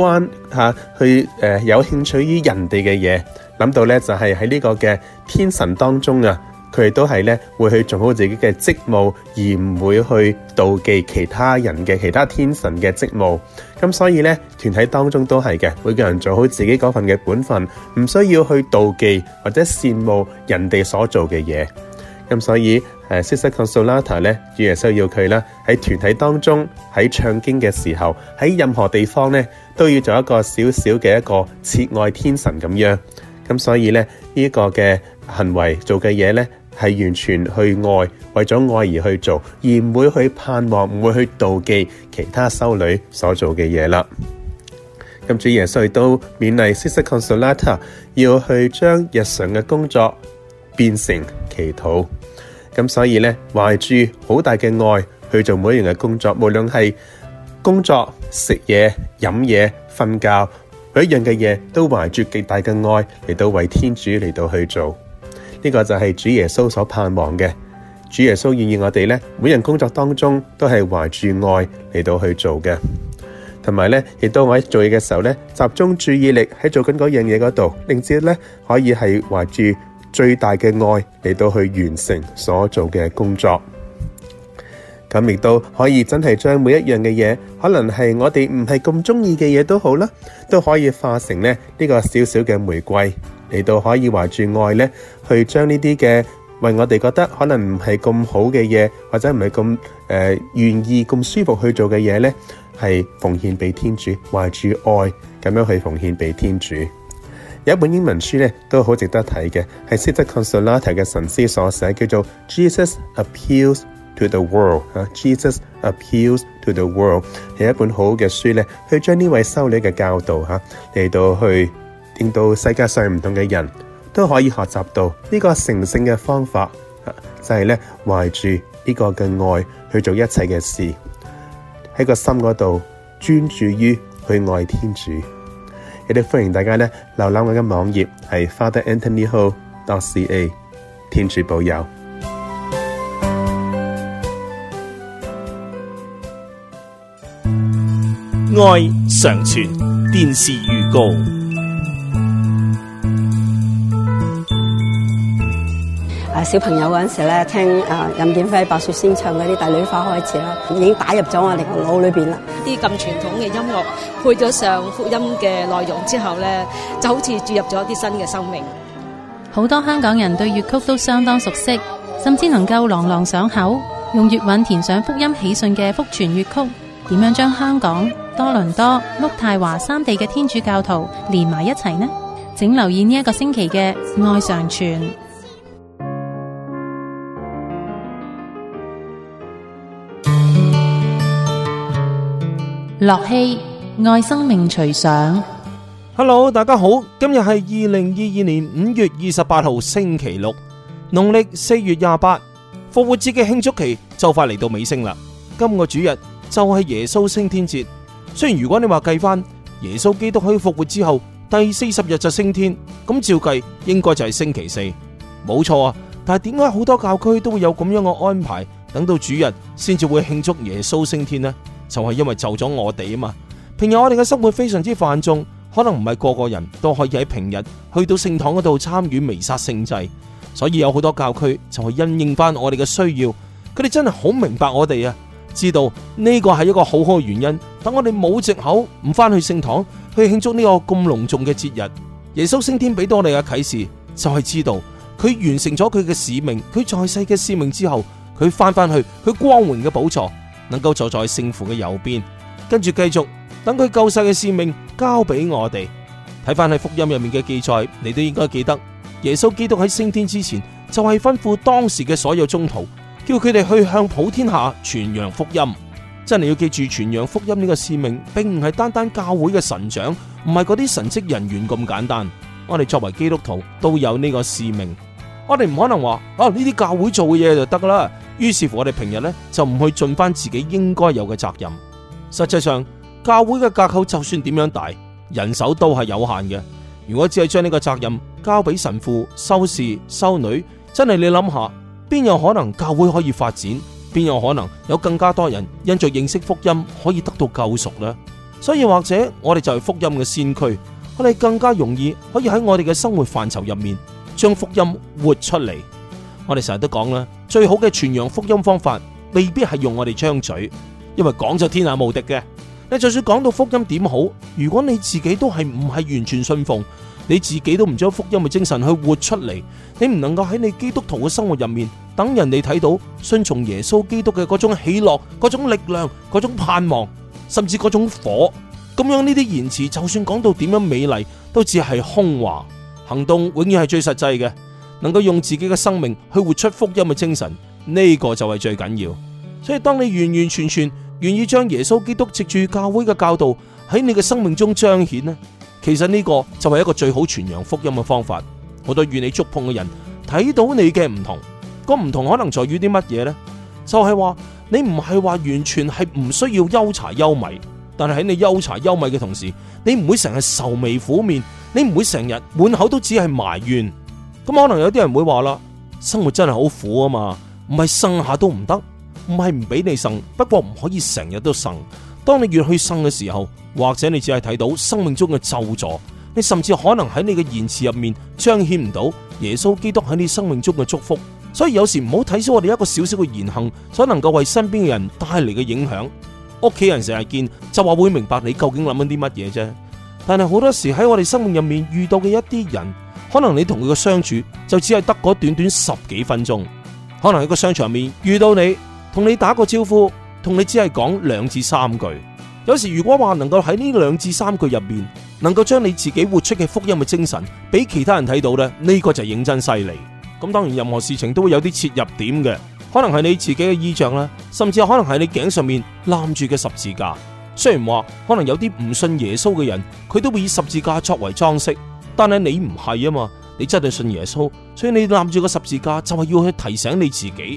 有興趣於人哋嘅嘢，諗到咧就係喺呢個嘅天神當中啊，佢哋都係咧會去做好自己嘅職務，而唔會去妒忌其他人嘅其他天神嘅職務。咁所以咧，團體當中都係嘅，每個人做好自己嗰份嘅本分，唔需要去妒忌或者羨慕人哋所做嘅嘢。咁所以Sister Consolata 咧，主耶穌要佢咧喺團體當中，喺唱經嘅時候，喺任何地方咧，都要做一個小小嘅一個切愛天神咁樣。咁所以咧，呢個嘅行為做嘅嘢咧，係完全去愛，為咗愛而去做，而唔會去盼望，唔會去妒忌其他修女所做嘅嘢啦。咁主耶穌亦都勉勵 Sister Consolata 要去將日常嘅工作變成祈禱。咁所以咧，懷住好大嘅愛去做每一樣嘅工作，無論係工作、食嘢、飲嘢、瞓覺，每一樣嘅嘢都懷住極大嘅愛嚟到為天主嚟到去做。呢個就係主耶穌所盼望嘅。主耶穌願意我哋咧，每人工作當中都係懷住愛嚟到去做嘅。同埋咧，亦都我喺做嘢嘅時候咧，集中注意力喺做緊嗰樣嘢嗰度，令至咧可以係懷住最大嘅愛嚟到去完成所做嘅工作。咁亦都可以真係將每一樣嘅嘢，可能係我哋唔係咁中意嘅嘢都好啦，都可以化成咧呢個小小嘅玫瑰，嚟到可以懷住愛咧，去將呢啲嘅為我哋覺得可能唔係咁好嘅嘢，或者唔係咁願意咁舒服去做嘅嘢咧，係奉獻俾天主，懷住愛咁樣去奉獻俾天主。有一本英文書咧都好值得睇嘅，係 Sister Consolata 嘅神師所寫，叫做 Jesus Appeals to the World。Jesus Appeals to the World 係一本好嘅書咧，去將呢位修女嘅教導嚟到去令到世界上唔同嘅人都可以學習到呢個成聖嘅方法，就係咧懷住呢個嘅愛去做一切嘅事。 喺個心嗰度專注於去愛天主。亦都歡迎大家呢瀏覽我嘅網頁係 fatheranthonyho.ca。 天主保佑。 愛常傳電視預告。 小朋友嗰陣時咧，聽任劍輝、白雪仙唱嗰啲《帝女花》開始啦，已經打入咗我哋個腦裏邊啦。 啲咁傳統嘅音樂配咗上福音嘅內容之後咧，就好似注入咗一啲新嘅生命。 好多香港人對粵曲都相當熟悉，甚至能夠朗朗上口。用粵韻填上福音喜訊嘅福傳粵曲，點樣將香港、多倫多、渥太華三地嘅天主教徒連埋一齊呢？請留意呢一個星期嘅愛常傳。樂器愛生命隨想。 Hello， 大家好，今日係2022年5月28號星期六，農曆4月28，復活節嘅慶祝期就快嚟到尾聲啦。今個主日就係耶穌升天節。雖然如果你話計翻耶穌基督喺復活之後第40日就升天，咁照計應該就係星期四，冇錯啊。但係點解好多教區都會有咁樣嘅安排，等到主日先至會慶祝耶穌升天呢？就係因為就咗我哋啊嘛。平日我哋嘅生活非常之繁重，可能唔係個個人都可以喺平日去到聖堂嗰度參與彌撒聖祭，所以有好多教區就係因應翻我哋嘅需要，佢哋真係好明白我哋啊，知道呢個係一個好好嘅原因，等我哋冇藉口唔翻去聖堂去慶祝呢個咁隆重嘅節日。耶穌升天俾到我哋嘅啟示就係知道佢完成咗佢嘅使命，佢在世嘅使命之後，佢翻去佢光榮嘅寶座，能夠坐在聖父嘅右邊，跟住繼續等佢救世嘅使命交俾我哋。睇翻喺福音入面嘅記載，你都應該記得耶穌基督喺升天之前就係吩咐當時嘅所有宗徒，叫佢哋去向普天下傳揚福音。真係要記住，傳揚福音呢個使命並唔係單單教會嘅神長，唔係嗰啲神職人員咁簡單。我哋作為基督徒都有呢個使命，我哋唔可能話呢啲教會做嘅嘢就得啦。於是乎我哋平日呢就唔去盡翻自己應該有嘅責任。實際上教會嘅架構就算點樣大，人手都係有限嘅。如果只係將呢個責任交俾神父、修士、修女，真係你諗下，邊有可能教會可以發展？邊有可能有更加多人因着認識福音可以得到救贖呢？所以或者我哋就係福音嘅先驅，我哋更加容易可以喺我哋嘅生活範疇入面將福音活出嚟。我哋成日都講啦，最好嘅傳揚福音方法未必係用我哋張嘴，因為講就天下無敵嘅。你就算講到福音點好，如果你自己都係唔係完全信奉，你自己都唔將福音嘅精神去活出嚟，你唔能夠喺你基督徒嘅生活入面等人哋睇到順從耶穌基督嘅嗰種喜樂、嗰種力量、嗰種盼望，甚至嗰種火，咁樣呢啲言辭就算講到點樣美麗，都只係空話。行動永遠係最實際嘅，能夠用自己嘅生命去活出福音嘅精神，呢個就係最緊要。所以當你完完全全願意將耶穌基督藉住教會嘅教導喺你嘅生命中彰顯呢，其實呢個就係一個最好傳揚福音嘅方法。好多與你觸碰嘅人睇到你嘅唔同，個唔同可能在於啲乜嘢呢？就係話你唔係話完全係唔需要憂柴憂米，但係喺你憂柴憂米嘅同時，你唔會成日愁眉苦面，你唔會成日滿口都只係埋怨。咁可能有啲人會話啦，生活真係好苦啊嘛，唔係呻下都唔得，唔係唔俾你呻，不過唔可以成日都呻。當你越去呻嘅時候，或者你只係睇到生命中嘅咒詛，你甚至可能喺你嘅言辭入面彰顯唔到耶穌基督喺你生命中嘅祝福。所以有時唔好睇小我哋一個小小嘅言行所能夠為身邊嘅人帶嚟嘅影響。屋企人成日見就話會明白你究竟諗緊啲乜嘢啫，但係好多時喺我哋生命入面遇到嘅一啲人，可能你同佢嘅相處就只係得嗰短短10幾分鐘，可能喺個商場入面遇到你，同你打個招呼，同你只係講2至3句。有時如果話能夠喺呢2至3句入面，能夠將你自己活出嘅福音嘅精神俾其他人睇到呢，呢個就認真犀利。咁當然任何事情都會有啲切入點嘅，可能係你自己嘅衣着啦，甚至可能係你頸上面攬住嘅十字架。雖然話可能有啲唔信耶穌嘅人，佢都會以十字架作為裝飾，但係你唔係啊嘛，你真係信耶穌，所以你攬住個十字架就係要去提醒你自己，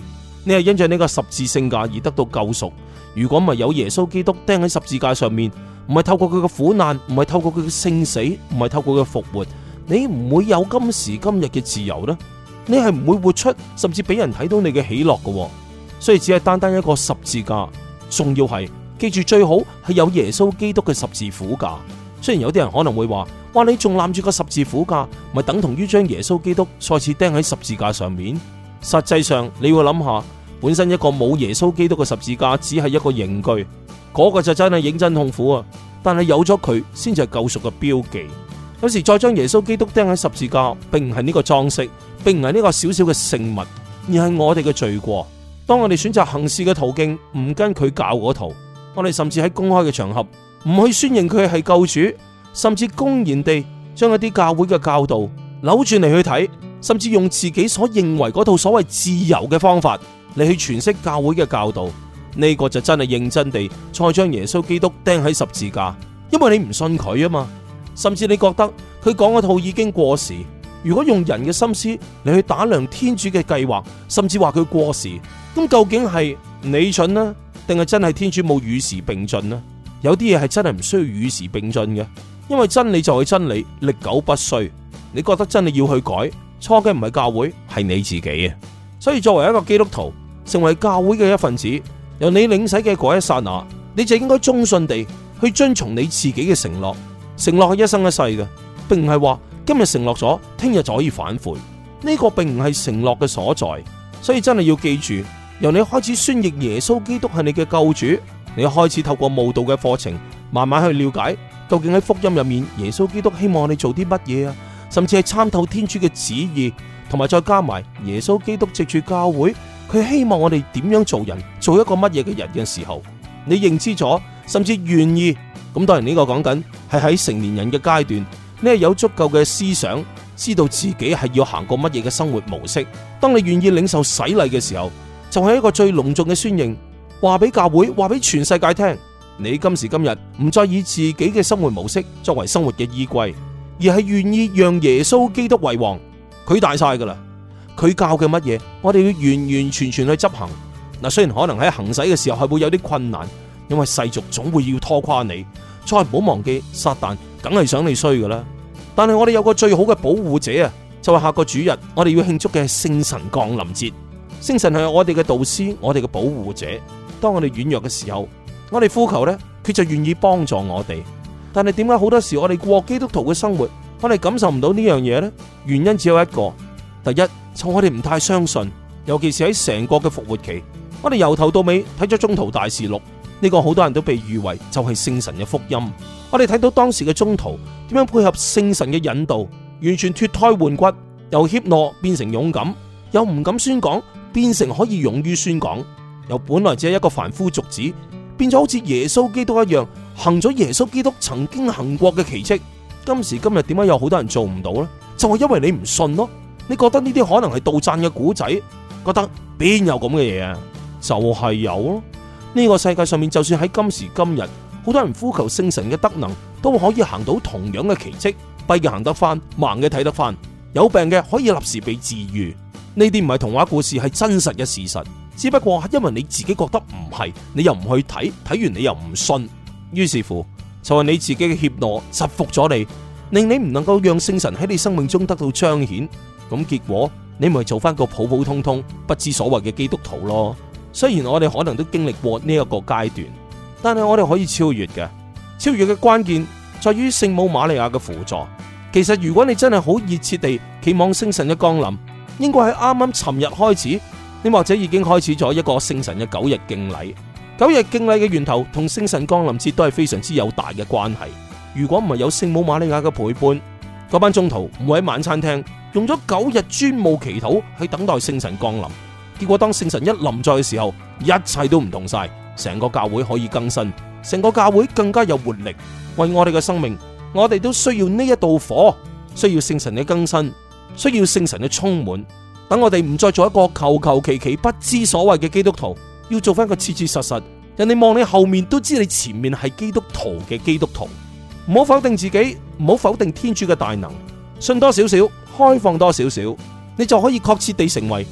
你係因着呢個十字聖架而得到救贖。如果唔係有耶穌基督釘喺十字架上面，唔係透過佢嘅苦難，唔係透過佢嘅聖死，唔係透過佢嘅復活，你唔會有今時今日嘅自由呢。你係唔會活出，甚至俾人睇到你嘅喜樂嘅。所以只係單單一個十字架，仲要係記住最好係有耶穌基督嘅十字苦架。雖然有啲人可能會話，哇，你仲攬住個十字苦架，咪等同於將耶穌基督再次釘喺十字架上面。實際上你要諗下，本身一個冇耶穌基督嘅十字架只係一個刑具，嗰個就真係認真痛苦啊！但係有咗佢先至係救贖嘅標記。有時再將耶穌基督釘喺十字架，並唔係呢個裝飾，並唔係呢個小小嘅聖物，而係我哋嘅罪過。當我哋選擇行事嘅途徑唔跟佢教嗰套，我哋甚至喺公開嘅場合唔去宣認佢係救主，甚至公然地將一啲教會嘅教導扭轉嚟去睇，甚至用自己所認為嗰套所謂自由嘅方法嚟去詮釋教會嘅教導，呢個就真係認真地再將耶穌基督釘喺十字架，因為你唔信佢啊嘛，甚至你覺得佢講嗰套已經過時。如果用人嘅心思嚟去打量天主嘅計劃，甚至話佢過時，咁究竟係你蠢呢，定係真係天主冇與時並進呢？有啲嘢係真係唔需要與時並進嘅，因為真理就係真理，歷久不衰。你覺得真係要去改，錯嘅唔係教會，係你自己啊！所以作為一個基督徒，成為教會嘅一份子，由你領洗嘅嗰一剎那，你就應該忠信地去遵從你自己嘅承諾。承諾係一生一世嘅，並唔係話今日承諾咗，聽日就可以反悔。呢個並唔係承諾嘅所在。所以真係要記住，由你開始宣認耶穌基督係你嘅救主，你開始透過慕道嘅課程，慢慢去了解究竟喺福音入面，耶穌基督希望我哋做啲乜嘢啊？甚至係參透天主嘅旨意，同埋再加埋耶穌基督藉住教會，佢希望我哋點樣做人，做一個乜嘢嘅人嘅時候，你認知咗，甚至願意。咁當然呢個講緊係喺成年人嘅階段，你係有足夠嘅思想，知道自己係要行過乜嘢嘅生活模式。當你願意領受洗禮嘅時候，就係一個最隆重嘅宣認，話俾教會，話俾全世界聽，你今時今日唔再以自己嘅生活模式作為生活嘅依歸，而係願意讓耶穌基督為王。佢大晒噶啦，佢教嘅乜嘢，我哋要完完全全去執行。嗱，雖然可能喺行使嘅時候係會有啲困難，因為世俗總會要拖垮你。再唔好忘記，撒旦梗係想你衰噶啦。但係我哋有個最好嘅保護者啊，就係下個主日我哋要慶祝嘅聖神降臨節。聖神係我哋嘅導師，我哋嘅保護者。當我哋軟弱嘅時候，我哋呼求呢，佢就願意幫助我哋。但係點解好多時我哋過基督徒嘅生活，我哋感受唔到呢樣嘢呢？原因只有一個，第一就我哋唔太相信，尤其是喺成個嘅復活期，我哋由頭到尾睇咗宗徒大事錄，呢個好多人都被譽為就係聖神嘅福音。我哋睇到當時嘅宗徒點樣配合聖神嘅引導，完全脫胎換骨，由怯懦變成勇敢，由唔敢宣講變成可以勇於宣講，由本來只係一個凡夫俗子，變咗好似耶穌基督一樣，行咗耶穌基督曾經行過嘅奇蹟。今時今日點解有好多人做唔到呢？就係因為你唔信咯，你覺得呢啲可能係杜撰嘅古仔，覺得邊有咁嘅嘢啊？就係有咯。呢個世界上面，就算喺今時今日，好多人呼求聖神嘅德能，都可以行到同樣嘅奇蹟。跛嘅行得翻，盲嘅睇得翻，有病嘅可以立時被治愈。呢啲唔係童話故事，係真實嘅事實。只不過係因為你自己覺得唔係，你又唔去睇，睇完你又唔信，於是乎就係你自己嘅怯懦制服咗你，令你唔能夠讓聖神喺你生命中得到彰顯。咁結果你咪做翻個普普通通不知所謂嘅基督徒咯。雖然我哋可能都經歷過呢一個階段，但係我哋可以超越嘅。超越嘅關鍵在於聖母瑪利亞嘅輔助。其實如果你真係好熱切地期望聖神嘅降臨，應該喺啱啱尋日開始，你或者已經開始咗一個聖神嘅9日敬禮。9日敬禮嘅源頭同聖神降臨節都係非常之有大嘅關係。如果唔係有聖母瑪利亞嘅陪伴，嗰班宗徒唔會喺晚餐廳用咗9日專務祈禱去等待聖神降臨。結果當聖神一臨在嘅時候，一切都唔同晒，成個教會可以更新，成個教會更加有活力。為我哋嘅生命，我哋都需要呢一道火，需要聖神嘅更新，需要聖神嘅充滿。等我哋唔再做一個求求其其不知所謂嘅基督徒，要做翻一個切切實實，人哋望你後面都知你前面係基督徒嘅基督徒。唔好否定自己，唔好否定天主嘅大能，信多少少，開放多少少，你就可以確切地成為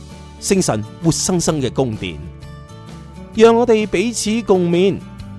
聖神活生生嘅宮殿。讓我哋彼此共勉。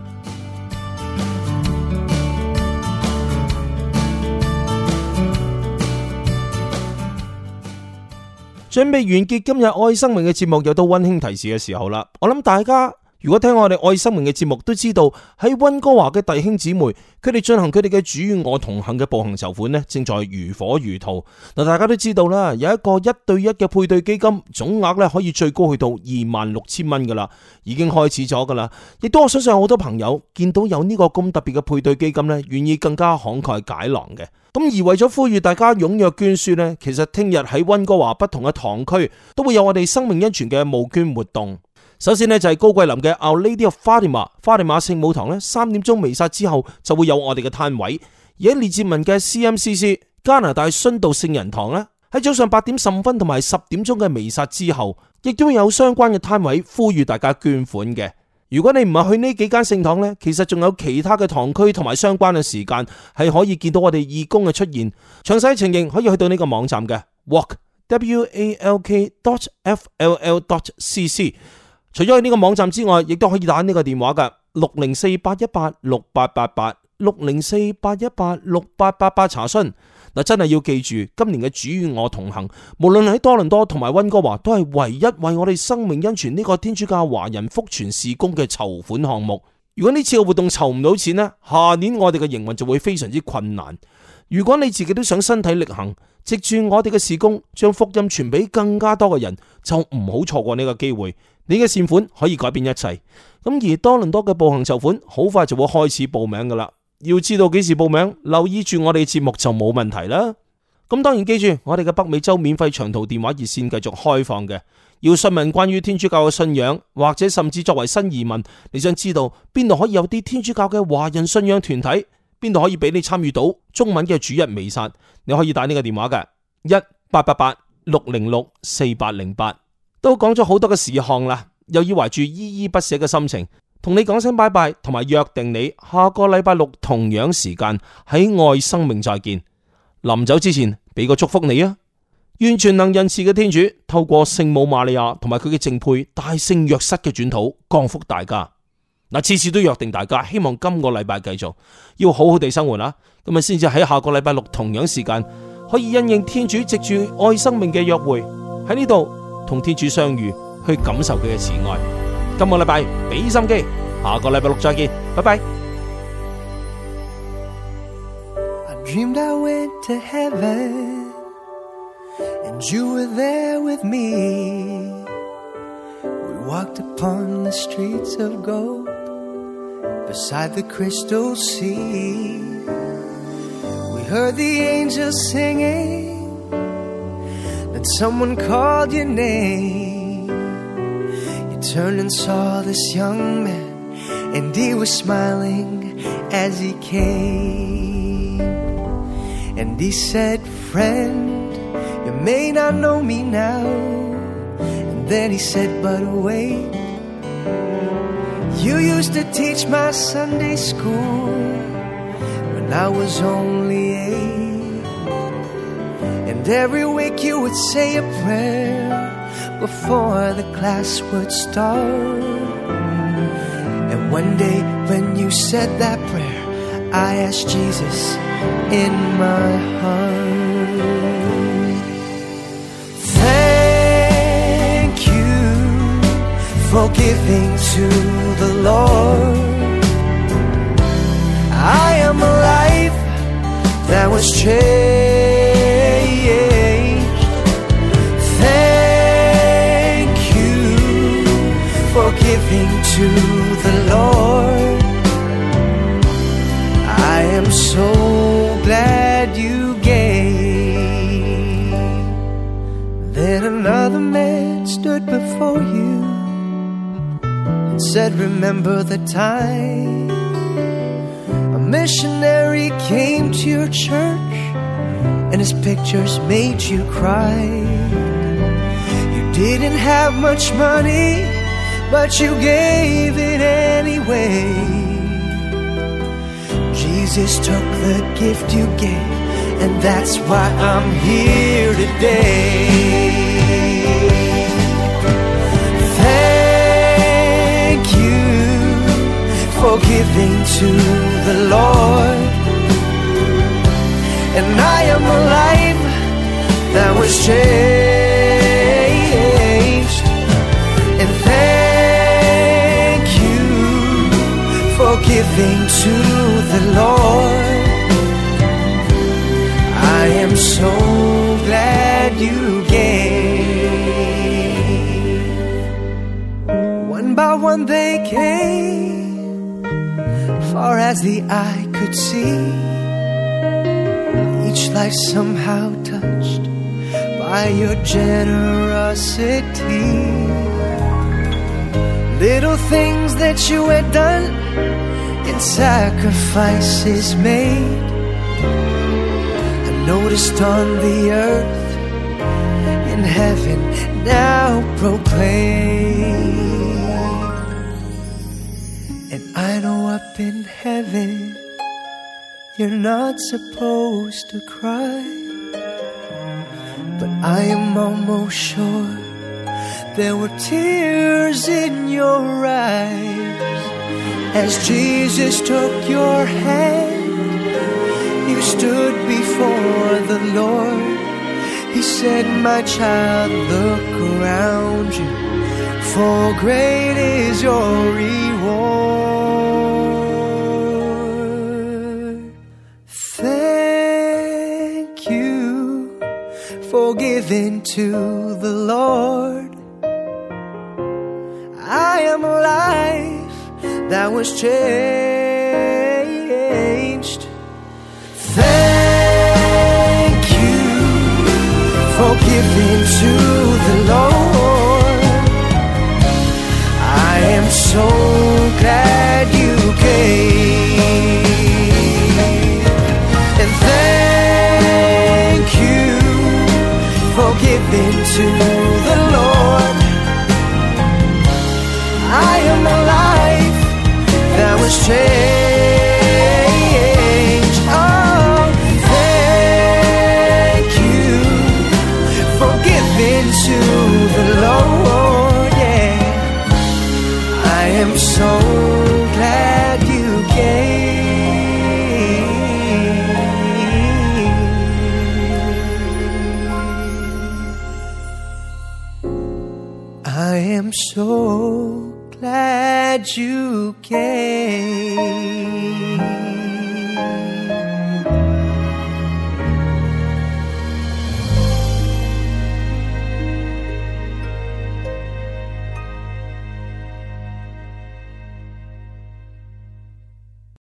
準備完結今日愛生命嘅節目，又到溫馨提示嘅時候啦。我諗大家如果聽我哋愛生命嘅節目，都知道喺溫哥華嘅弟兄姊妹，佢哋進行佢哋嘅主與我同行嘅步行籌款呢，正在如火如荼。嗱，大家都知道啦，有一個1對1嘅配對基金，總額咧可以最高去到26,000蚊噶啦，已經開始咗噶啦。亦都我相信有好多朋友見到有呢個咁特別嘅配對基金呢，願意更加慷慨解囊嘅。咁而為咗呼籲大家踴躍捐輸呢，其實聽日喺溫哥華不同嘅堂區都會有我哋生命恩泉嘅募捐活動。首先呢，就係高桂林嘅 Our Lady of Fatima 花地瑪聖母堂呢，3點鐘彌撒之後就會有我哋嘅攤位。而喺列治文嘅 CMCC 加拿大殉道聖人堂呢，喺早上8點15分同埋10點鐘嘅彌撒之後，亦都會有相關嘅攤位呼籲大家捐款嘅。如果你唔係去呢幾間聖堂呢，其實仲有其他嘅堂區同埋相關嘅時間係可以見到我哋義工嘅出現。詳細情形可以去到呢個網站嘅 walk.fll.cc。除咗去呢個網站之外，亦都可以打呢個電話嘅604-818-6888 604-818-6888查詢。嗱，真係要記住，今年嘅主與我同行，無論喺多倫多同埋溫哥華，都係唯一為我哋生命恩泉呢個天主教華人福傳事工嘅籌款項目。如果呢次嘅活動籌唔到錢呢，下年我哋嘅營運就會非常之困難。如果你自己都想身體力行，藉住我哋嘅事工，將福音傳俾更加多嘅人，就唔好錯過呢個機會。你嘅善款可以改變一切。咁而多倫多嘅步行籌款好快就會開始報名噶啦。要知道幾時報名，留意住我哋節目就冇問題啦。咁當然記住，我哋嘅北美洲免費長途電話熱線繼續開放嘅。要詢問關於天主教嘅信仰，或者甚至作為新移民，你想知道邊度可以有啲天主教嘅華人信仰團體，邊度可以俾你參與到中文嘅主日彌撒，你可以打呢個電話嘅1888-606-4808。都講咗好多嘅事項啦，又要懷住依依不捨嘅心情，同你講聲拜拜，同埋約定你下個禮拜六同樣時間喺愛生命再見。臨走之前俾個祝福你啊！願全能仁慈嘅天主透過聖母瑪利亞同埋佢嘅正配大聖若瑟嘅轉禱降福大家。嗱，次次都約定大家，希望今個禮拜繼續要好好地生活啦，咁啊先至喺下個禮拜六同樣時間可以因應天主藉住愛生命嘅約會喺呢度同天主相遇，去感受佢嘅慈愛。今個禮拜俾心機，下個禮拜六再見，拜拜。 I dreamed I went to heaven and you were there with me. We walked upon the streets of gold beside the crystal sea. We heard the angels singing, then someone called your name. You turned and saw this young man, and he was smiling as he came. And he said, friend, you may not know me now. And then he said, but wait, you used to teach my Sunday school when I was only 8. And every week you would say a prayer before the class would start. And one day when you said that prayer, I asked Jesus in my heart. Thank you for giving to the Lord. I am a life that was changed. Thank you for giving to the Lord. I am so glad you gave. Then another man stood before you and said, remember the time a missionary came to your church and his pictures made you cry. You didn't have much money, but you gave it anyway. Jesus took the gift you gave, and that's why I'm here today. for giving to the Lord. And I am a life that was changed. And thank you for giving to the Lord. I am so glad you gave. One by one they came, far as the eye could see. Each life somehow touched by your generosity. Little things that you had done and sacrifices made, I noticed on the earth, in heaven now proclaim. And I know up in heaven you're not supposed to cry, but I am almost sure there were tears in your eyes as Jesus took your hand. You stood before the Lord. He said, my child, look around you, for great is your reward. Thank you for giving to the Lord. I am a life that was changed. Thank you for giving to the Lord. I am so glad you gave. And thank you for giving to the Lord. I am a life that was changed. Oh, thank you for giving to the Lord. Yeah, I am so glad you gave. I am so glad you came.